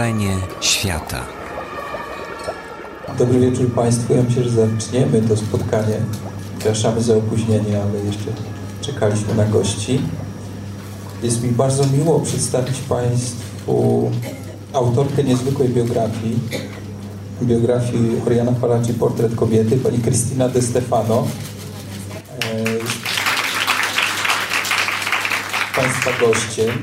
Stworzenie świata. Dobry wieczór Państwu. Ja myślę, że zaczniemy to spotkanie. Przepraszamy za opóźnienie, ale jeszcze czekaliśmy na gości. Jest mi bardzo miło przedstawić Państwu autorkę niezwykłej biografii Oriana Fallaci, Portret kobiety, pani Cristina De Stefano. Państwa gościem.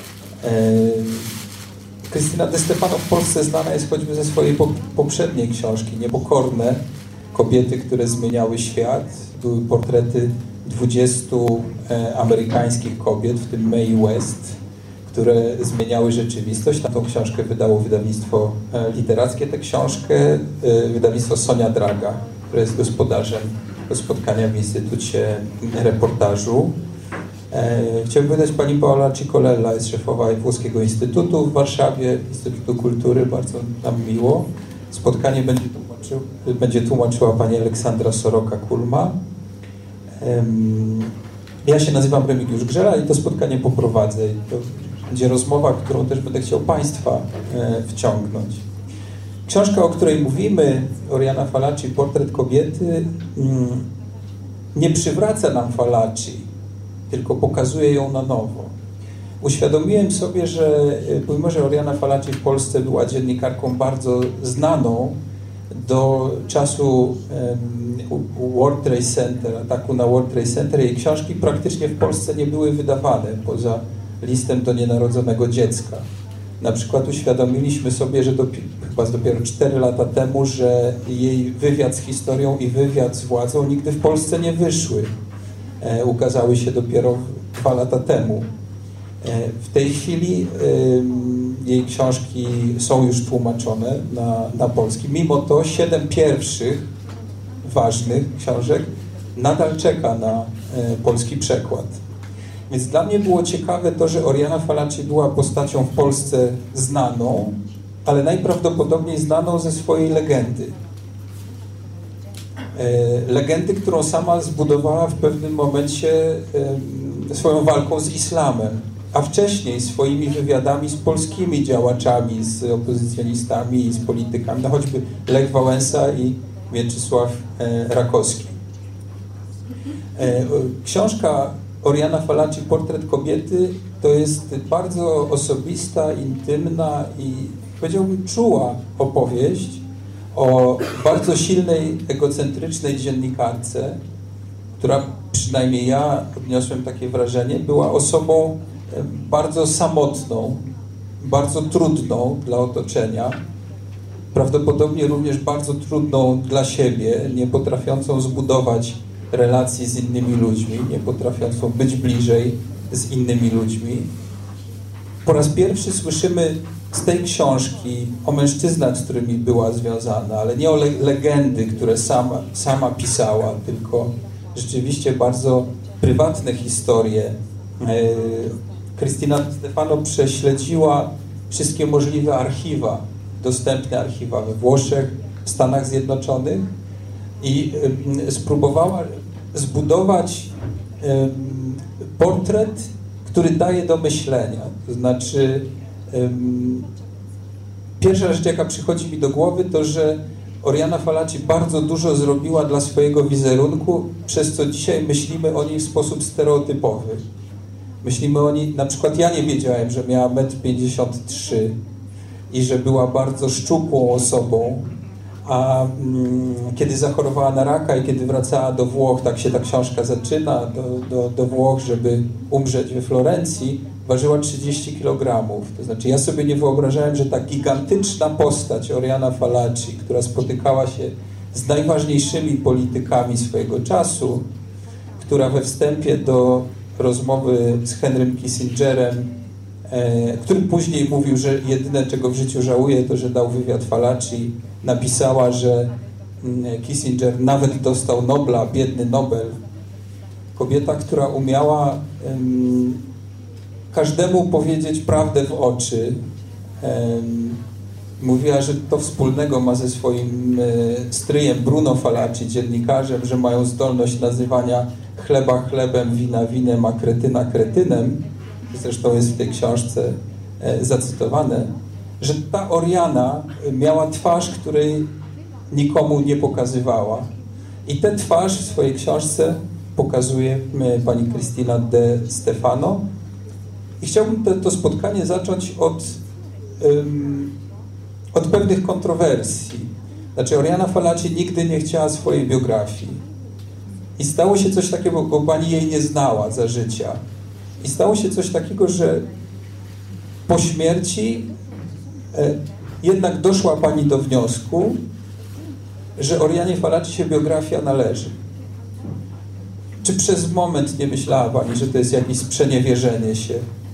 Cristina De Stefano w Polsce znana jest choćby ze swojej poprzedniej książki Niepokorne kobiety, które zmieniały świat. Były portrety 20 amerykańskich kobiet, w tym Mae West, które zmieniały rzeczywistość. Na tą książkę wydało wydawnictwo literackie. Tę książkę wydawnictwo Sonia Draga, które jest gospodarzem spotkania w Instytucie Reportażu. Chciałbym wydać pani Paola Cicolella, jest szefowa Włoskiego Instytutu w Warszawie, Instytutu Kultury, bardzo nam miło. Spotkanie będzie tłumaczyła pani Aleksandra Soroka-Kulma. Ja się nazywam Remigiusz Grzela i to spotkanie poprowadzę. To będzie rozmowa, którą też będę chciał Państwa wciągnąć. Książka, o której mówimy, Oriana Fallaci, Portret kobiety, nie przywraca nam Fallaci, tylko pokazuje ją na nowo. Uświadomiłem sobie, że pomimo, że Oriana Fallaci w Polsce była dziennikarką bardzo znaną, do czasu World Trade Center, ataku na World Trade Center, jej książki praktycznie w Polsce nie były wydawane, poza listem do nienarodzonego dziecka. Na przykład uświadomiliśmy sobie, że chyba dopiero 4 lata temu, że jej wywiad z historią i wywiad z władzą nigdy w Polsce nie wyszły. Ukazały się dopiero 2 lata temu. W tej chwili jej książki są już tłumaczone na polski. Mimo to 7 pierwszych ważnych książek nadal czeka na polski przekład. Więc dla mnie było ciekawe to, że Oriana Fallaci była postacią w Polsce znaną, ale najprawdopodobniej znaną ze swojej legendy. Legendy, którą sama zbudowała w pewnym momencie swoją walką z islamem, a wcześniej swoimi wywiadami z polskimi działaczami, z opozycjonistami i z politykami, no choćby Lech Wałęsa i Mieczysław Rakowski. Książka Oriana Fallaci, Portret kobiety, to jest bardzo osobista, intymna i powiedziałbym czuła opowieść o bardzo silnej, egocentrycznej dziennikarce, która, przynajmniej ja odniosłem takie wrażenie, była osobą bardzo samotną, bardzo trudną dla otoczenia, prawdopodobnie również bardzo trudną dla siebie, nie potrafiącą zbudować relacji z innymi ludźmi, nie potrafiącą być bliżej z innymi ludźmi. Po raz pierwszy słyszymy z tej książki o mężczyznach, z którymi była związana, ale nie o legendy, które sama pisała, tylko rzeczywiście bardzo prywatne historie. Cristina De Stefano prześledziła wszystkie możliwe archiwa, dostępne archiwa we Włoszech, w Stanach Zjednoczonych i spróbowała zbudować portret, który daje do myślenia. To znaczy, pierwsza rzecz, jaka przychodzi mi do głowy, to, że Oriana Fallaci bardzo dużo zrobiła dla swojego wizerunku, przez co dzisiaj myślimy o niej w sposób stereotypowy. Myślimy o niej, na przykład ja nie wiedziałem, że miała 1,53 m i że była bardzo szczupłą osobą, a kiedy zachorowała na raka i kiedy wracała do Włoch, tak się ta książka zaczyna, do Włoch, żeby umrzeć we Florencji, ważyła 30 kg. To znaczy ja sobie nie wyobrażałem, że ta gigantyczna postać Oriana Fallaci, która spotykała się z najważniejszymi politykami swojego czasu, która we wstępie do rozmowy z Henrym Kissingerem, który później mówił, że jedyne, czego w życiu żałuje, to, że dał wywiad Fallaci, napisała, że Kissinger nawet dostał Nobla, biedny Nobel. Kobieta, która umiała każdemu powiedzieć prawdę w oczy. Mówiła, że to wspólnego ma ze swoim stryjem Bruno Fallaci, dziennikarzem, że mają zdolność nazywania chleba chlebem, wina winem, a kretyna kretynem. Zresztą jest w tej książce zacytowane. że ta Oriana miała twarz, której nikomu nie pokazywała. I tę twarz w swojej książce pokazuje pani Cristina De Stefano. I chciałbym to spotkanie zacząć od pewnych kontrowersji. Znaczy, Oriana Fallaci nigdy nie chciała swojej biografii. I stało się coś takiego, bo pani jej nie znała za życia. I stało się coś takiego, że po śmierci jednak doszła pani do wniosku, że Orianie Fallaci się biografia należy. Czy przez moment nie myślała pani, że to jest jakieś sprzeniewierzenie się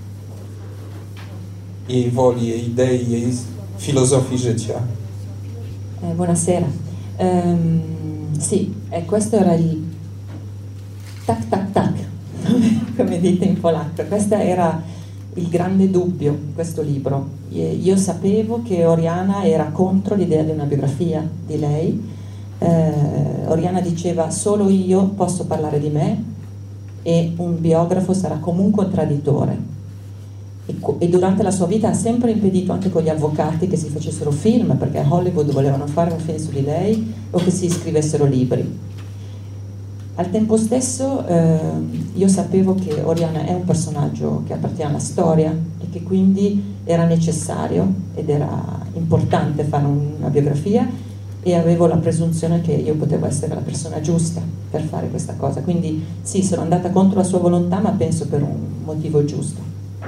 jej woli, jej idei, jej filozofii życia? Buonasera. Sì, questo era il tac tac tac, come dite in polacco. Questo era il grande dubbio di questo libro. Io sapevo che Oriana era contro l'idea di una biografia di lei. Oriana diceva: solo io posso parlare di me e un biografo sarà comunque un traditore. E durante la sua vita ha sempre impedito, anche con gli avvocati, che si facessero film, perché a Hollywood volevano fare un film su di lei o che si scrivessero libri. Al tempo stesso io sapevo che Oriana è un personaggio che appartiene alla storia e che quindi era necessario ed era importante fare una biografia, e avevo la presunzione che io potevo essere la persona giusta per fare questa cosa. Quindi sì, sono andata contro la sua volontà, ma penso per un motivo giusto.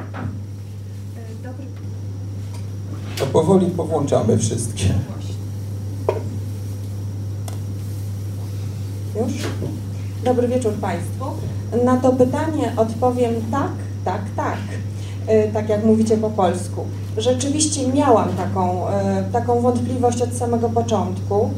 To powoli powłączamy wszystkie. Już? Dobry wieczór Państwu. Na to pytanie odpowiem tak, tak, tak. Tak jak mówicie po polsku. Rzeczywiście miałam taką wątpliwość od samego początku,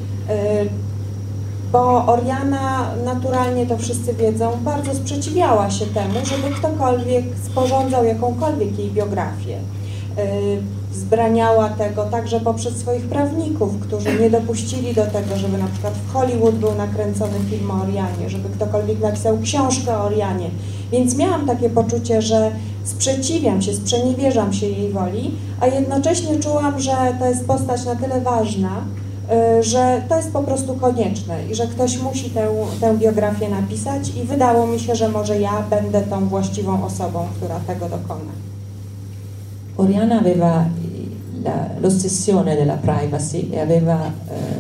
bo Oriana, naturalnie to wszyscy wiedzą, bardzo sprzeciwiała się temu, żeby ktokolwiek sporządzał jakąkolwiek jej biografię. Wzbraniała tego także poprzez swoich prawników, którzy nie dopuścili do tego, żeby na przykład w Hollywood był nakręcony film o Orianie, żeby ktokolwiek napisał książkę o Orianie. Więc miałam takie poczucie, że sprzeciwiam się, sprzeniewierzam się jej woli, a jednocześnie czułam, że to jest postać na tyle ważna, że to jest po prostu konieczne i że ktoś musi tę biografię napisać, i wydało mi się, że może ja będę tą właściwą osobą, która tego dokona. Oriana aveva l'ossessione della privacy e aveva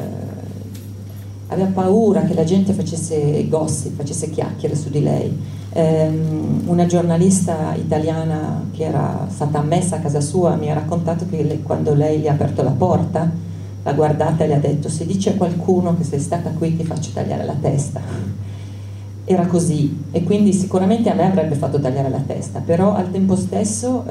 paura che la gente facesse gossip, facesse chiacchiere su di lei. Una giornalista italiana che era stata ammessa a casa sua mi ha raccontato che quando lei gli ha aperto la porta, l'ha guardata e le ha detto: se dice a qualcuno che sei stata qui ti faccio tagliare la testa. Era così, e quindi sicuramente a me avrebbe fatto tagliare la testa, però al tempo stesso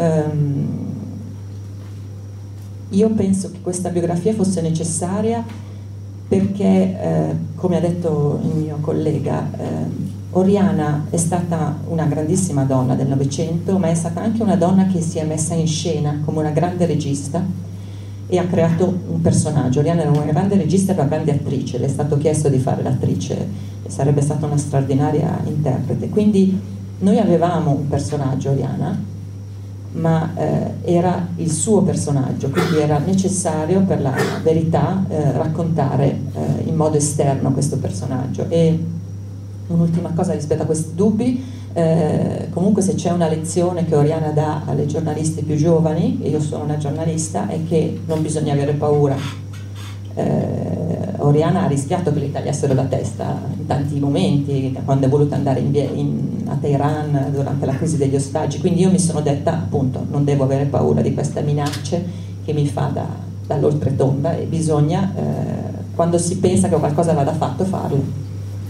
io penso che questa biografia fosse necessaria perché, come ha detto il mio collega, Oriana è stata una grandissima donna del Novecento, ma è stata anche una donna che si è messa in scena come una grande regista e ha creato un personaggio. Oriana era una grande regista e una grande attrice, le è stato chiesto di fare l'attrice e sarebbe stata una straordinaria interprete. Quindi noi avevamo un personaggio, Oriana, ma era il suo personaggio, quindi era necessario per la verità raccontare in modo esterno questo personaggio. E un'ultima cosa rispetto a questi dubbi, comunque se c'è una lezione che Oriana dà alle giornaliste più giovani, e io sono una giornalista, è che non bisogna avere paura. Oriana ha rischiato che le tagliassero la testa in tanti momenti, quando è voluta andare a Teheran durante la crisi degli ostaggi, quindi io mi sono detta, appunto, non devo avere paura di queste minacce che mi fa dall'oltretomba, e bisogna, quando si pensa che qualcosa vada fatto, farlo.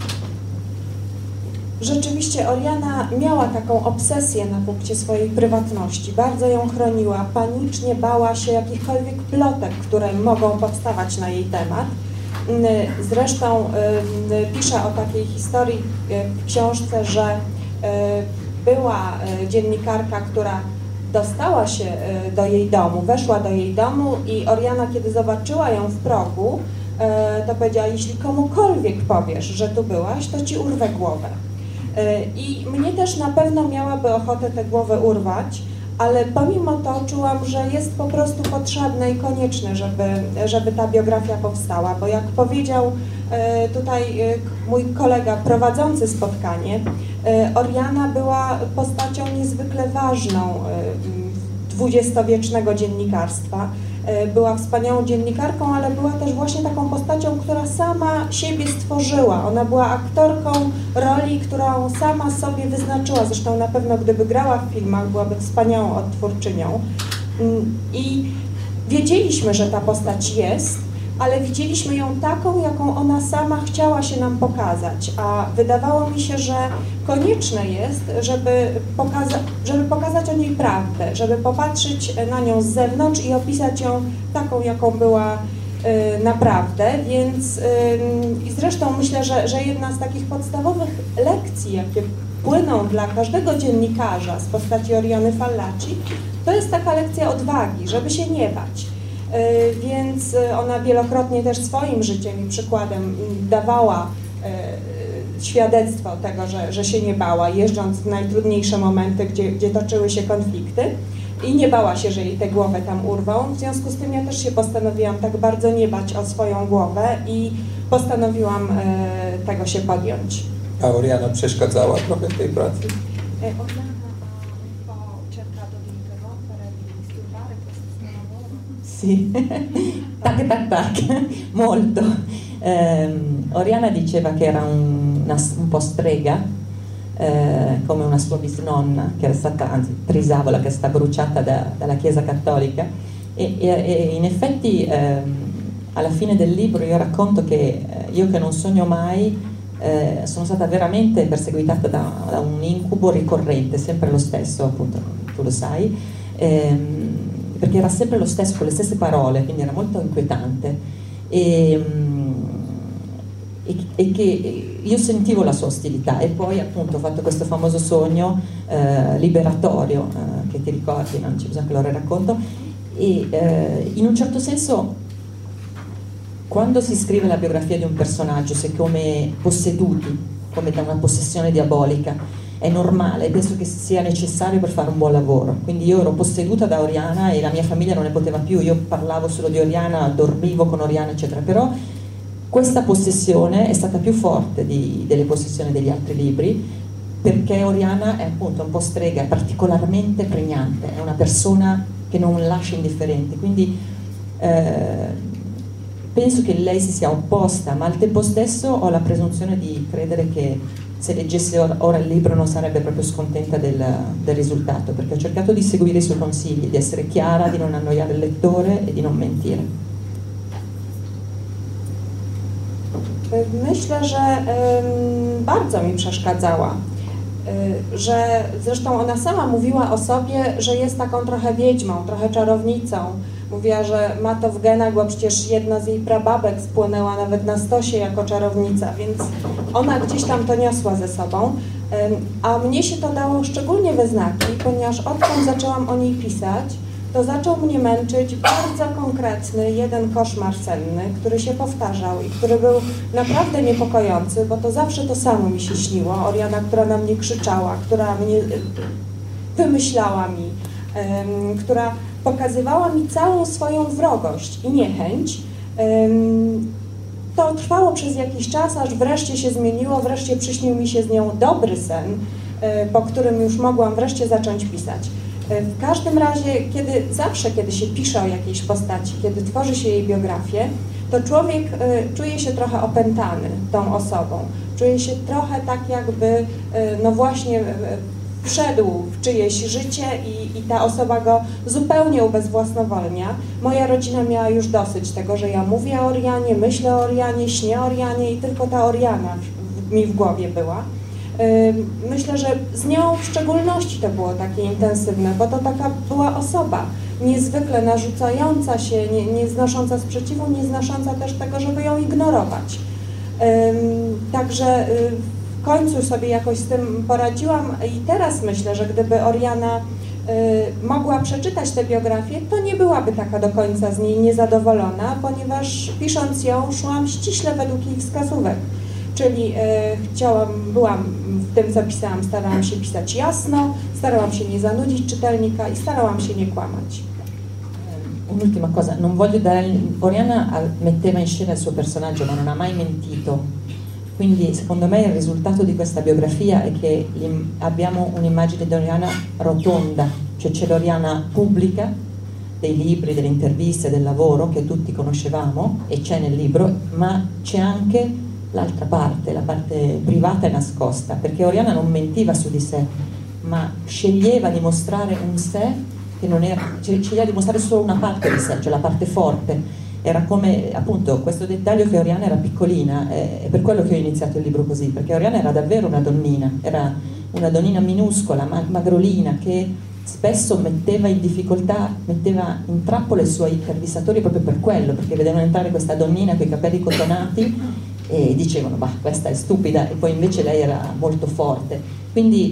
Rzeczywiście Oriana miała taką obsesję na punkcie swojej prywatności, bardzo ją chroniła, panicznie bała się jakichkolwiek plotek, które mogą powstawać na jej temat. Zresztą pisze o takiej historii w książce, że była dziennikarka, która dostała się do jej domu, weszła do jej domu, i Oriana, kiedy zobaczyła ją w progu, to powiedziała: jeśli komukolwiek powiesz, że tu byłaś, to ci urwę głowę. I mnie też na pewno miałaby ochotę tę głowę urwać, ale pomimo to czułam, że jest po prostu potrzebne i konieczne, żeby ta biografia powstała, bo jak powiedział tutaj mój kolega prowadzący spotkanie, Oriana była postacią niezwykle ważną dwudziestowiecznego dziennikarstwa. Była wspaniałą dziennikarką, ale była też właśnie taką postacią, która sama siebie stworzyła. Ona była aktorką roli, którą sama sobie wyznaczyła. Zresztą na pewno gdyby grała w filmach, byłaby wspaniałą odtwórczynią. I wiedzieliśmy, że ta postać jest, ale widzieliśmy ją taką, jaką ona sama chciała się nam pokazać, a wydawało mi się, że konieczne jest, żeby pokazać o niej prawdę, żeby popatrzeć na nią z zewnątrz i opisać ją taką, jaką była naprawdę, więc i zresztą myślę, że jedna z takich podstawowych lekcji, jakie płyną dla każdego dziennikarza z postaci Oriany Fallaci, to jest taka lekcja odwagi, żeby się nie bać. Więc ona wielokrotnie też swoim życiem i przykładem dawała świadectwo tego, że się nie bała, jeżdżąc w najtrudniejsze momenty, gdzie toczyły się konflikty i nie bała się, że jej tę głowę tam urwą. W związku z tym ja też się postanowiłam tak bardzo nie bać o swoją głowę i postanowiłam tego się podjąć. A Oriana przeszkadzała trochę w tej pracy? Sì, tac tac tac, molto. Oriana diceva che era un po' strega, come una sua bisnonna, che era stata, anzi Trisavola, che è stata bruciata dalla Chiesa Cattolica, e in effetti alla fine del libro io racconto che io che non sogno mai sono stata veramente perseguitata da un incubo ricorrente, sempre lo stesso, appunto, tu lo sai, perché era sempre lo stesso, con le stesse parole, quindi era molto inquietante e che io sentivo la sua ostilità, e poi appunto ho fatto questo famoso sogno liberatorio, che ti ricordi, non c'è bisogno che lo racconto, e in un certo senso quando si scrive la biografia di un personaggio si è come posseduti, come da una possessione diabolica. È normale, penso che sia necessario per fare un buon lavoro. Quindi io ero posseduta da Oriana e la mia famiglia non ne poteva più, io parlavo solo di Oriana, dormivo con Oriana eccetera, però questa possessione è stata più forte delle possessioni degli altri libri, perché Oriana è appunto un po' strega, è particolarmente pregnante, è una persona che non lascia indifferenti, quindi penso che lei si sia opposta, ma al tempo stesso ho la presunzione di credere che se leggesse ora il libro non sarebbe proprio scontenta del risultato, perché ho cercato di seguire i suoi consigli, di essere chiara, di non annoiare il lettore e di non mentire. Myślę, że bardzo mi przeszkadzała, że zresztą ona sama mówiła o sobie, że jest taką trochę wiedźmą, trochę czarownicą. Mówiła, że ma to w genach, bo przecież jedna z jej prababek spłonęła nawet na stosie jako czarownica, więc ona gdzieś tam to niosła ze sobą. A mnie się to dało szczególnie we znaki, ponieważ odkąd zaczęłam o niej pisać, to zaczął mnie męczyć bardzo konkretny jeden koszmar senny, który się powtarzał i który był naprawdę niepokojący, bo to zawsze to samo mi się śniło. Oriana, która na mnie krzyczała, która mnie wymyślała mi, która pokazywała mi całą swoją wrogość i niechęć. To trwało przez jakiś czas, aż wreszcie się zmieniło, wreszcie przyśnił mi się z nią dobry sen, po którym już mogłam wreszcie zacząć pisać. W każdym razie, zawsze kiedy się pisze o jakiejś postaci, kiedy tworzy się jej biografię, to człowiek czuje się trochę opętany tą osobą. Czuje się trochę tak jakby, no właśnie, wszedł w czyjeś życie i ta osoba go zupełnie ubezwłasnowolnia. Moja rodzina miała już dosyć tego, że ja mówię o Orianie, myślę o Orianie, śnię o Orianie i tylko ta Oriana mi w głowie była. Myślę, że z nią w szczególności to było takie intensywne, bo to taka była osoba niezwykle narzucająca się, nie znosząca sprzeciwu, nie znosząca też tego, żeby ją ignorować. Także w końcu sobie jakoś z tym poradziłam i teraz myślę, że gdyby Oriana mogła przeczytać tę biografię, to nie byłaby taka do końca z niej niezadowolona, ponieważ pisząc ją szłam ściśle według jej wskazówek. czyli byłam w tym, co pisałam, starałam się pisać jasno, starałam się nie zanudzić czytelnika i starałam się nie kłamać. Un'ultima cosa, non voglio dare... Oriana metteva in scena il suo personaggio, ma non ha mai mentito. Quindi, secondo me, il risultato di questa biografia è che abbiamo un'immagine di Oriana rotonda, cioè c'è l'Oriana pubblica, dei libri, delle interviste, del lavoro che tutti conoscevamo e c'è nel libro, ma c'è anche l'altra parte, la parte privata e nascosta, perché Oriana non mentiva su di sé, ma sceglieva di mostrare un sé che non era, sceglieva di mostrare solo una parte di sé, cioè la parte forte. Era come appunto questo dettaglio che Oriana era piccolina, è per quello che ho iniziato il libro così, perché Oriana era davvero una donnina, era una donnina minuscola, magrolina, che spesso metteva in difficoltà, metteva in trappola i suoi intervistatori proprio per quello, perché vedevano entrare questa donnina con i capelli cotonati e dicevano bah, questa è stupida, e poi invece lei era molto forte. Quindi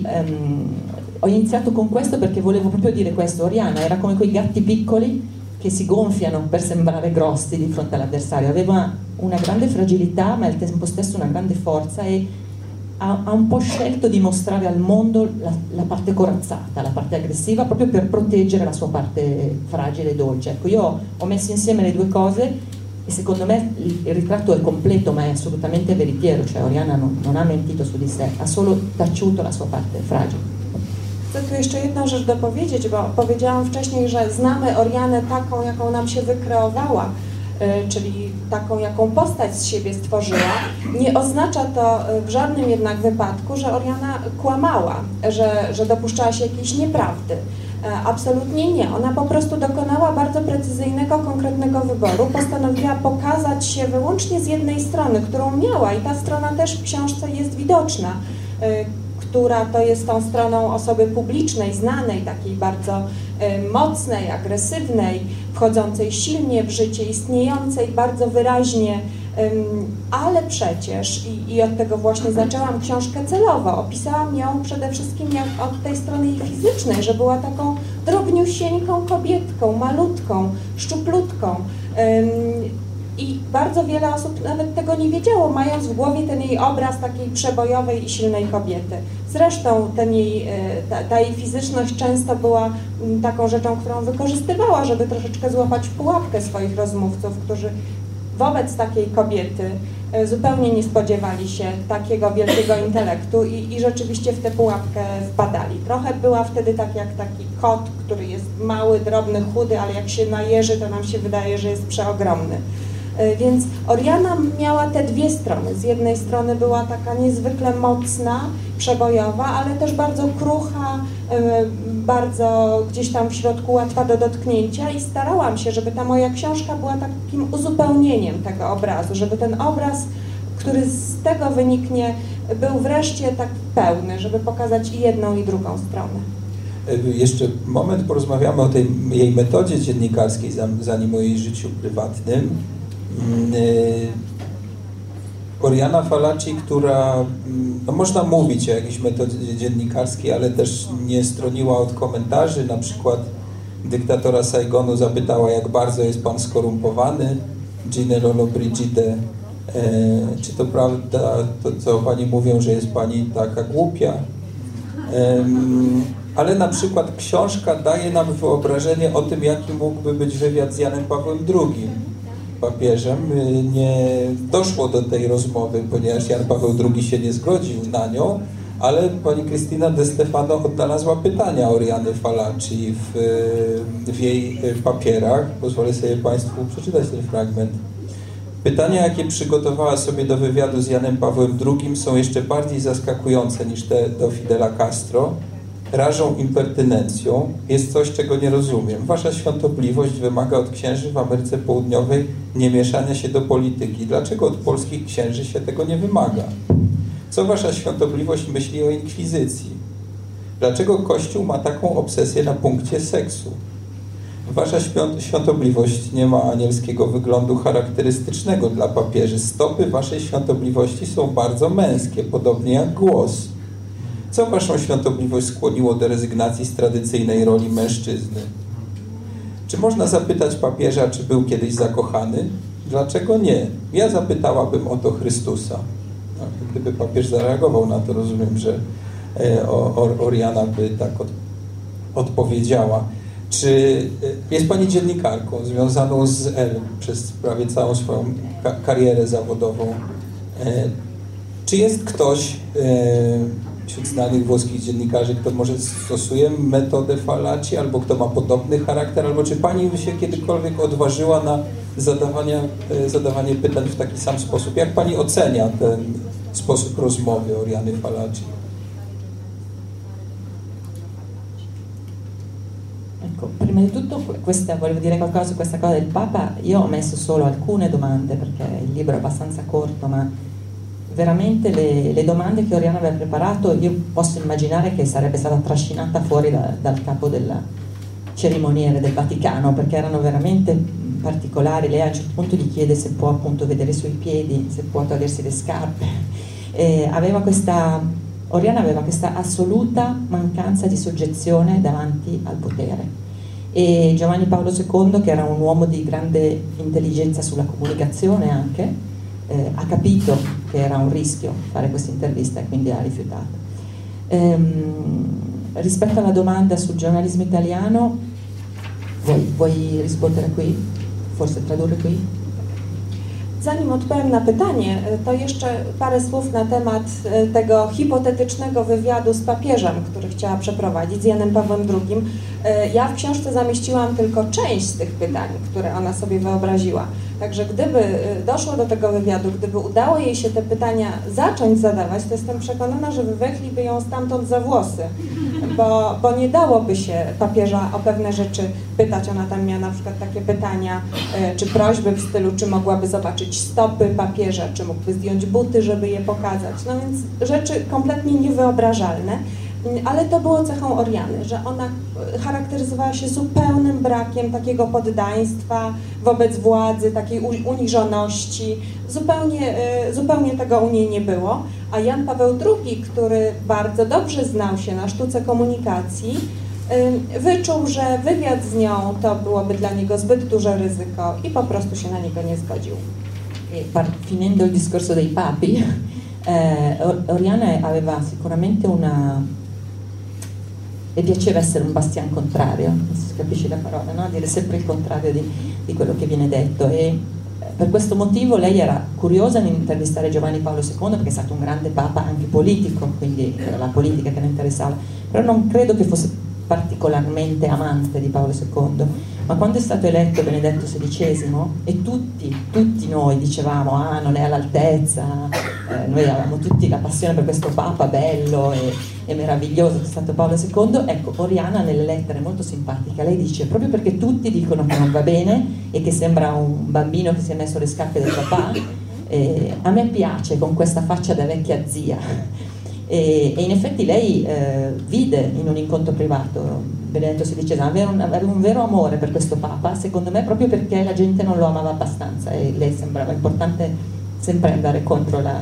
ho iniziato con questo perché volevo proprio dire questo. Oriana era come quei gatti piccoli che si gonfiano per sembrare grossi di fronte all'avversario, aveva una grande fragilità ma al tempo stesso una grande forza, e ha un po' scelto di mostrare al mondo la parte corazzata, la parte aggressiva, proprio per proteggere la sua parte fragile e dolce. Ecco, io ho messo insieme le due cose e secondo me il ritratto è completo, ma è assolutamente veritiero, cioè Oriana non ha mentito su di sé, ha solo taciuto la sua parte fragile. Chcę tu jeszcze jedną rzecz dopowiedzieć, bo powiedziałam wcześniej, że znamy Orianę taką, jaką nam się wykreowała, czyli taką, jaką postać z siebie stworzyła. Nie oznacza to w żadnym jednak wypadku, że Oriana kłamała, że dopuszczała się jakiejś nieprawdy. Absolutnie nie. Ona po prostu dokonała bardzo precyzyjnego, konkretnego wyboru. Postanowiła pokazać się wyłącznie z jednej strony, którą miała, i ta strona też w książce jest widoczna, która to jest tą stroną osoby publicznej, znanej, takiej bardzo mocnej, agresywnej, wchodzącej silnie w życie, istniejącej bardzo wyraźnie, ale przecież, i od tego właśnie zaczęłam książkę celowo, opisałam ją przede wszystkim od tej strony jej fizycznej, że była taką drobniusieńką kobietką, malutką, szczuplutką. I bardzo wiele osób nawet tego nie wiedziało, mając w głowie ten jej obraz takiej przebojowej i silnej kobiety. Zresztą ta jej fizyczność często była taką rzeczą, którą wykorzystywała, żeby troszeczkę złapać w pułapkę swoich rozmówców, którzy wobec takiej kobiety zupełnie nie spodziewali się takiego wielkiego intelektu i rzeczywiście w tę pułapkę wpadali. Trochę była wtedy tak jak taki kot, który jest mały, drobny, chudy, ale jak się najeży, to nam się wydaje, że jest przeogromny. Więc Oriana miała te dwie strony. Z jednej strony była taka niezwykle mocna, przebojowa, ale też bardzo krucha, bardzo gdzieś tam w środku łatwa do dotknięcia, i starałam się, żeby ta moja książka była takim uzupełnieniem tego obrazu, żeby ten obraz, który z tego wyniknie, był wreszcie tak pełny, żeby pokazać i jedną, i drugą stronę. Jeszcze moment porozmawiamy o tej jej metodzie dziennikarskiej, zanim o jej życiu prywatnym. Oriana Fallaci, która, no można mówić o jakiejś metodzie dziennikarskiej, ale też nie stroniła od komentarzy. Na przykład dyktatora Saigonu zapytała, jak bardzo jest pan skorumpowany. Ginelolo Brigide, czy to prawda, to co pani mówią, że jest pani taka głupia? Ale na przykład książka daje nam wyobrażenie o tym, jaki mógłby być wywiad z Janem Pawłem II, papieżem. Nie doszło do tej rozmowy, ponieważ Jan Paweł II się nie zgodził na nią, ale pani Cristina De Stefano odnalazła pytania Oriany Fallaci w jej papierach. Pozwolę sobie państwu przeczytać ten fragment. Pytania, jakie przygotowała sobie do wywiadu z Janem Pawłem II, są jeszcze bardziej zaskakujące niż te do Fidela Castro. Rażą impertynencją. Jest coś, czego nie rozumiem. Wasza świątobliwość wymaga od księży w Ameryce Południowej nie mieszania się do polityki. Dlaczego od polskich księży się tego nie wymaga? Co wasza świątobliwość myśli o inkwizycji? Dlaczego Kościół ma taką obsesję na punkcie seksu? Wasza świątobliwość nie ma anielskiego wyglądu charakterystycznego dla papieży. Stopy waszej świątobliwości są bardzo męskie, podobnie jak głos. Co waszą świątobliwość skłoniło do rezygnacji z tradycyjnej roli mężczyzny? Czy można zapytać papieża, czy był kiedyś zakochany? Dlaczego nie? Ja zapytałabym o to Chrystusa. No, gdyby papież zareagował na to, rozumiem, że Oriana by tak odpowiedziała. Czy jest Pani dziennikarką związaną z Elle przez prawie całą swoją karierę zawodową? Czy jest ktoś wśród znanych włoskich dziennikarzy, kto może stosuje metodę Falaci, albo kto ma podobny charakter, albo czy Pani by się kiedykolwiek odważyła na zadawanie pytań w taki sam sposób? Jak Pani ocenia ten sposób rozmowy Oriany Falaci? Ecco, prima di tutto volevo dire qualcosa su questa cosa del Papa. Io ho messo solo alcune domande perché il libro è abbastanza corto, ma veramente le domande che Oriana aveva preparato, io posso immaginare che sarebbe stata trascinata fuori dal capo del cerimoniere del Vaticano, perché erano veramente particolari. Lei a un certo punto gli chiede se può appunto vedere i suoi piedi, se può togliersi le scarpe. Oriana aveva questa assoluta mancanza di soggezione davanti al potere. E Giovanni Paolo II, che era un uomo di grande intelligenza sulla comunicazione anche, ha capito che era un rischio fare questa intervista e quindi ha rifiutato. Rispetto alla domanda sul giornalismo italiano, vuoi rispondere qui? Forse tradurre qui? Zanim odpowiem na pytanie, to jeszcze parę słów na temat tego hipotetycznego wywiadu z papieżem, który chciała przeprowadzić, z Janem Pawłem II. Ja w książce zamieściłam tylko część z tych pytań, które ona sobie wyobraziła. Także gdyby doszło do tego wywiadu, gdyby udało jej się te pytania zacząć zadawać, to jestem przekonana, że wywlekliby ją stamtąd za włosy, bo nie dałoby się papieża o pewne rzeczy pytać. Ona tam miała na przykład takie pytania, czy prośby w stylu, czy mogłaby zobaczyć stopy papieża, czy mógłby zdjąć buty, żeby je pokazać. No więc rzeczy kompletnie niewyobrażalne. Ale to było cechą Oriany, że ona charakteryzowała się zupełnym brakiem takiego poddaństwa wobec władzy, takiej uniżoności. Zupełnie tego u niej nie było. A Jan Paweł II, który bardzo dobrze znał się na sztuce komunikacji, wyczuł, że wywiad z nią to byłoby dla niego zbyt duże ryzyko i po prostu się na niego nie zgodził. Finendo il discorso dei papi, Oriana aveva sicuramente le piaceva essere un bastian contrario, non si capisce la parola, no? Dire sempre il contrario di quello che viene detto, e per questo motivo lei era curiosa di intervistare Giovanni Paolo II perché è stato un grande papa anche politico, quindi era la politica che la interessava, però non credo che fosse particolarmente amante di Paolo II, ma quando è stato eletto Benedetto XVI e tutti noi dicevamo non è all'altezza, noi avevamo tutti la passione per questo papa bello e meraviglioso che è stato Paolo II, ecco, Oriana nelle lettere molto simpatica, lei dice proprio perché tutti dicono che non va bene e che sembra un bambino che si è messo le scarpe del papà, a me piace con questa faccia da vecchia zia. E in effetti lei vide in un incontro privato Benedetto XVI aveva un vero amore per questo Papa, secondo me proprio perché la gente non lo amava abbastanza e lei sembrava importante sempre andare contro la...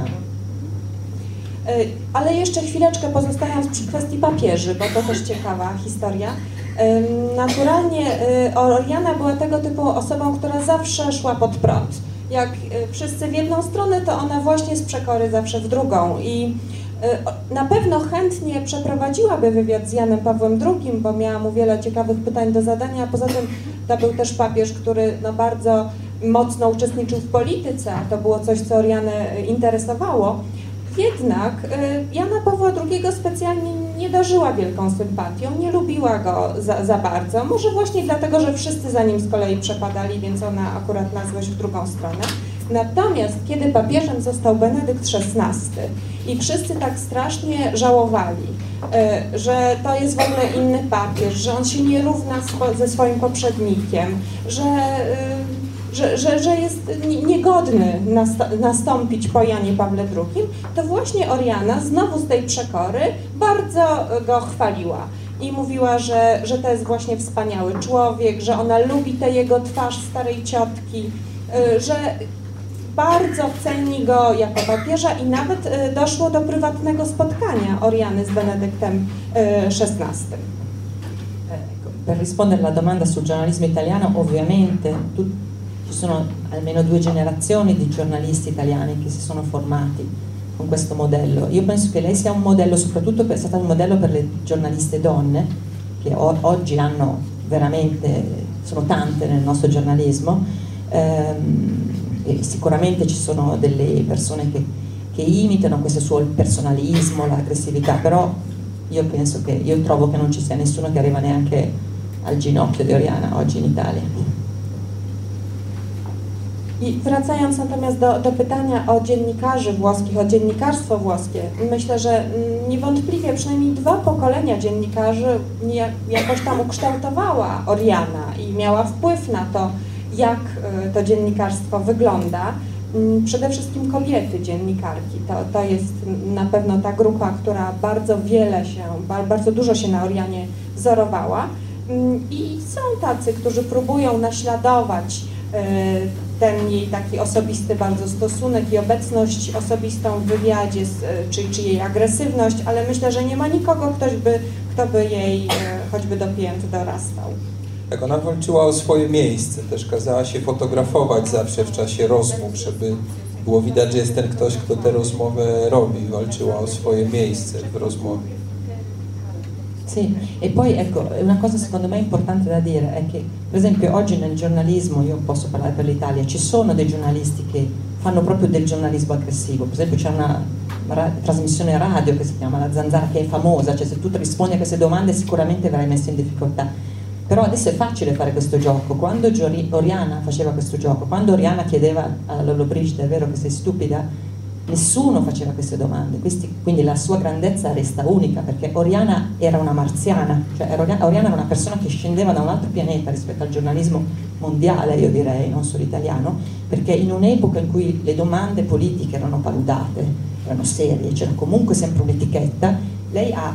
Ale jeszcze chwileczkę pozostając przy kwestii papieży, bo to też ciekawa historia. Naturalnie Oriana była tego typu osobą, która zawsze szła pod prąd. Jak wszyscy w jedną stronę, to ona właśnie z przekory zawsze w drugą i na pewno chętnie przeprowadziłaby wywiad z Janem Pawłem II, bo miała mu wiele ciekawych pytań do zadania, a poza tym to był też papież, który bardzo mocno uczestniczył w polityce, a to było coś, co Orianę interesowało. Jednak Jana Pawła II specjalnie nie darzyła wielką sympatią, nie lubiła go za bardzo, może właśnie dlatego, że wszyscy za nim z kolei przepadali, więc ona akurat na złość w drugą stronę. Natomiast kiedy papieżem został Benedykt XVI i wszyscy tak strasznie żałowali, że to jest w ogóle inny papież, że on się nie równa ze swoim poprzednikiem, że jest niegodny nastąpić po Janie Pawle II, to właśnie Oriana znowu z tej przekory bardzo go chwaliła i mówiła, że to jest właśnie wspaniały człowiek, że ona lubi tę jego twarz starej ciotki, że bardzo ceni go jako papieża i nawet doszło do prywatnego spotkania Oriany z Benedyktem XVI. Per rispondere alla domanda sul giornalismo italiano, ovviamente ci sono almeno 2 generazioni di giornalisti italiani che si sono formati con questo modello. Io penso che lei sia un modello, soprattutto è stata un modello per le giornaliste donne, che oggi hanno veramente, sono tante nel nostro giornalismo, e sicuramente ci sono delle persone che imitano questo suo personalismo, l'aggressività, però io trovo che non ci sia nessuno che arriva neanche al ginocchio di Oriana oggi in Italia. I wracając natomiast do pytania o dziennikarzy włoskich, o dziennikarstwo włoskie, myślę, że niewątpliwie przynajmniej 2 pokolenia dziennikarzy jakoś tam ukształtowała Oriana i miała wpływ na to, jak to dziennikarstwo wygląda. Przede wszystkim kobiety dziennikarki. To jest na pewno ta grupa, która bardzo dużo się na Orianie wzorowała. I są tacy, którzy próbują naśladować ten jej taki osobisty bardzo stosunek i obecność osobistą w wywiadzie, czy jej agresywność, ale myślę, że nie ma nikogo, kto by jej choćby do pięt dorastał. Tak, ona walczyła o swoje miejsce, też kazała się fotografować zawsze w czasie rozmów, żeby było widać, że jest ten ktoś, kto tę rozmowę robi, walczyła o swoje miejsce w rozmowie. Sì, e poi ecco, una cosa secondo me importante da dire è che, per esempio, oggi nel giornalismo, io posso parlare per l'Italia, ci sono dei giornalisti che fanno proprio del giornalismo aggressivo. Per esempio c'è una trasmissione radio che si chiama La Zanzara, che è famosa, cioè se tu rispondi a queste domande sicuramente verrai messo in difficoltà. Però adesso è facile fare questo gioco. Quando Oriana faceva questo gioco, quando Oriana chiedeva a Lollobrigida, è vero che sei stupida? Nessuno faceva queste domande, quindi la sua grandezza resta unica, perché Oriana era una marziana, cioè Oriana era una persona che scendeva da un altro pianeta rispetto al giornalismo mondiale, io direi, non solo italiano, perché in un'epoca in cui le domande politiche erano paludate, erano serie, c'era comunque sempre un'etichetta, lei ha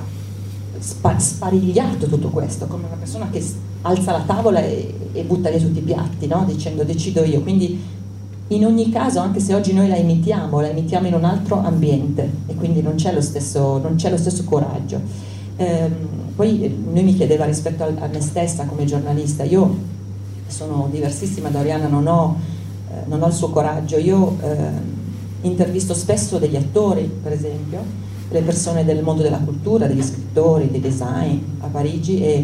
sparigliato tutto questo, come una persona che alza la tavola e butta via tutti i piatti, no? Dicendo decido io, quindi in ogni caso, anche se oggi noi la imitiamo in un altro ambiente e quindi non c'è lo stesso coraggio. Poi lui mi chiedeva rispetto a me stessa come giornalista, io sono diversissima da Oriana, non ho il suo coraggio, io intervisto spesso degli attori, per esempio, le persone del mondo della cultura, degli scrittori, dei design a Parigi, e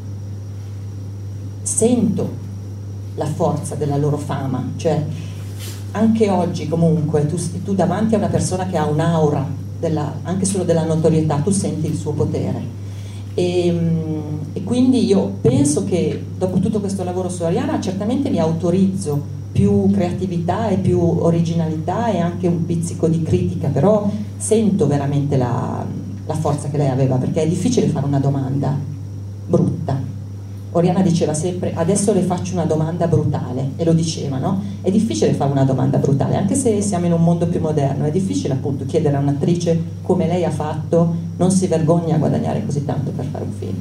sento la forza della loro fama, cioè anche oggi comunque tu davanti a una persona che ha un'aura anche solo della notorietà, tu senti il suo potere e quindi io penso che dopo tutto questo lavoro su Oriana certamente mi autorizzo più creatività e più originalità e anche un pizzico di critica, però sento veramente la forza che lei aveva, perché è difficile fare una domanda brutta. Oriana diceva sempre, adesso le faccio una domanda brutale, e lo diceva, no? È difficile fare una domanda brutale, anche se siamo in un mondo più moderno, è difficile appunto chiedere a un'attrice come lei ha fatto, non si vergogna a guadagnare così tanto per fare un film.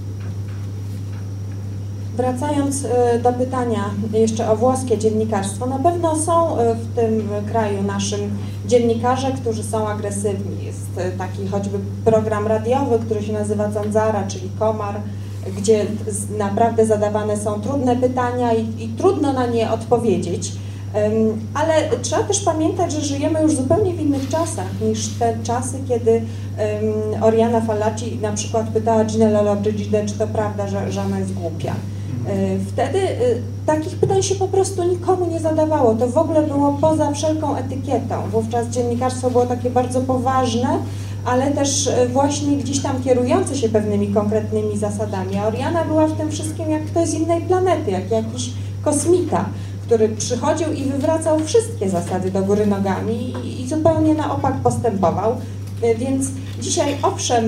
Wracając do pytania jeszcze o włoskie dziennikarstwo, na pewno są w tym kraju naszym dziennikarze, którzy są agresywni. Jest taki choćby program radiowy, który się nazywa Zanzara, czyli komar, gdzie naprawdę zadawane są trudne pytania i trudno na nie odpowiedzieć, ale trzeba też pamiętać, że żyjemy już zupełnie w innych czasach niż te czasy, kiedy Oriana Fallaci na przykład pytała Ginę Lollobrigidę, czy to prawda, że ona jest głupia. Wtedy takich pytań się po prostu nikomu nie zadawało, to w ogóle było poza wszelką etykietą. Wówczas dziennikarstwo było takie bardzo poważne, ale też właśnie gdzieś tam kierujące się pewnymi konkretnymi zasadami. A Oriana była w tym wszystkim jak ktoś z innej planety, jak jakiś kosmita, który przychodził i wywracał wszystkie zasady do góry nogami i zupełnie na opak postępował. Więc dzisiaj owszem,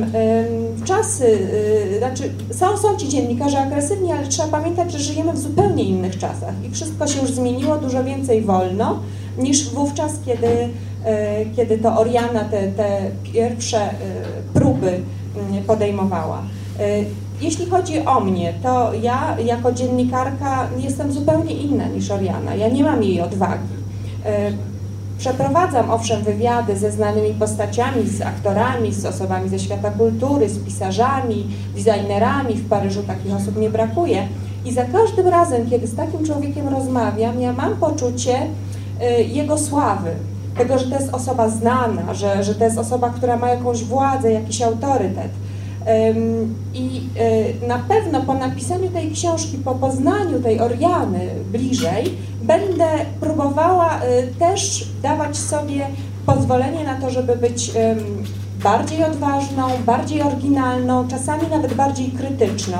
są ci dziennikarze agresywni, ale trzeba pamiętać, że żyjemy w zupełnie innych czasach i wszystko się już zmieniło, dużo więcej wolno niż wówczas, kiedy to Oriana te pierwsze próby podejmowała. Jeśli chodzi o mnie, to ja jako dziennikarka jestem zupełnie inna niż Oriana. Ja nie mam jej odwagi. Przeprowadzam owszem wywiady ze znanymi postaciami, z aktorami, z osobami ze świata kultury, z pisarzami, designerami. W Paryżu takich osób nie brakuje. I za każdym razem, kiedy z takim człowiekiem rozmawiam, ja mam poczucie jego sławy. tego, że to jest osoba znana, że to jest osoba, która ma jakąś władzę, jakiś autorytet. I na pewno po napisaniu tej książki, po poznaniu tej Oriany bliżej, będę próbowała też dawać sobie pozwolenie na to, żeby być bardziej odważną, bardziej oryginalną, czasami nawet bardziej krytyczną,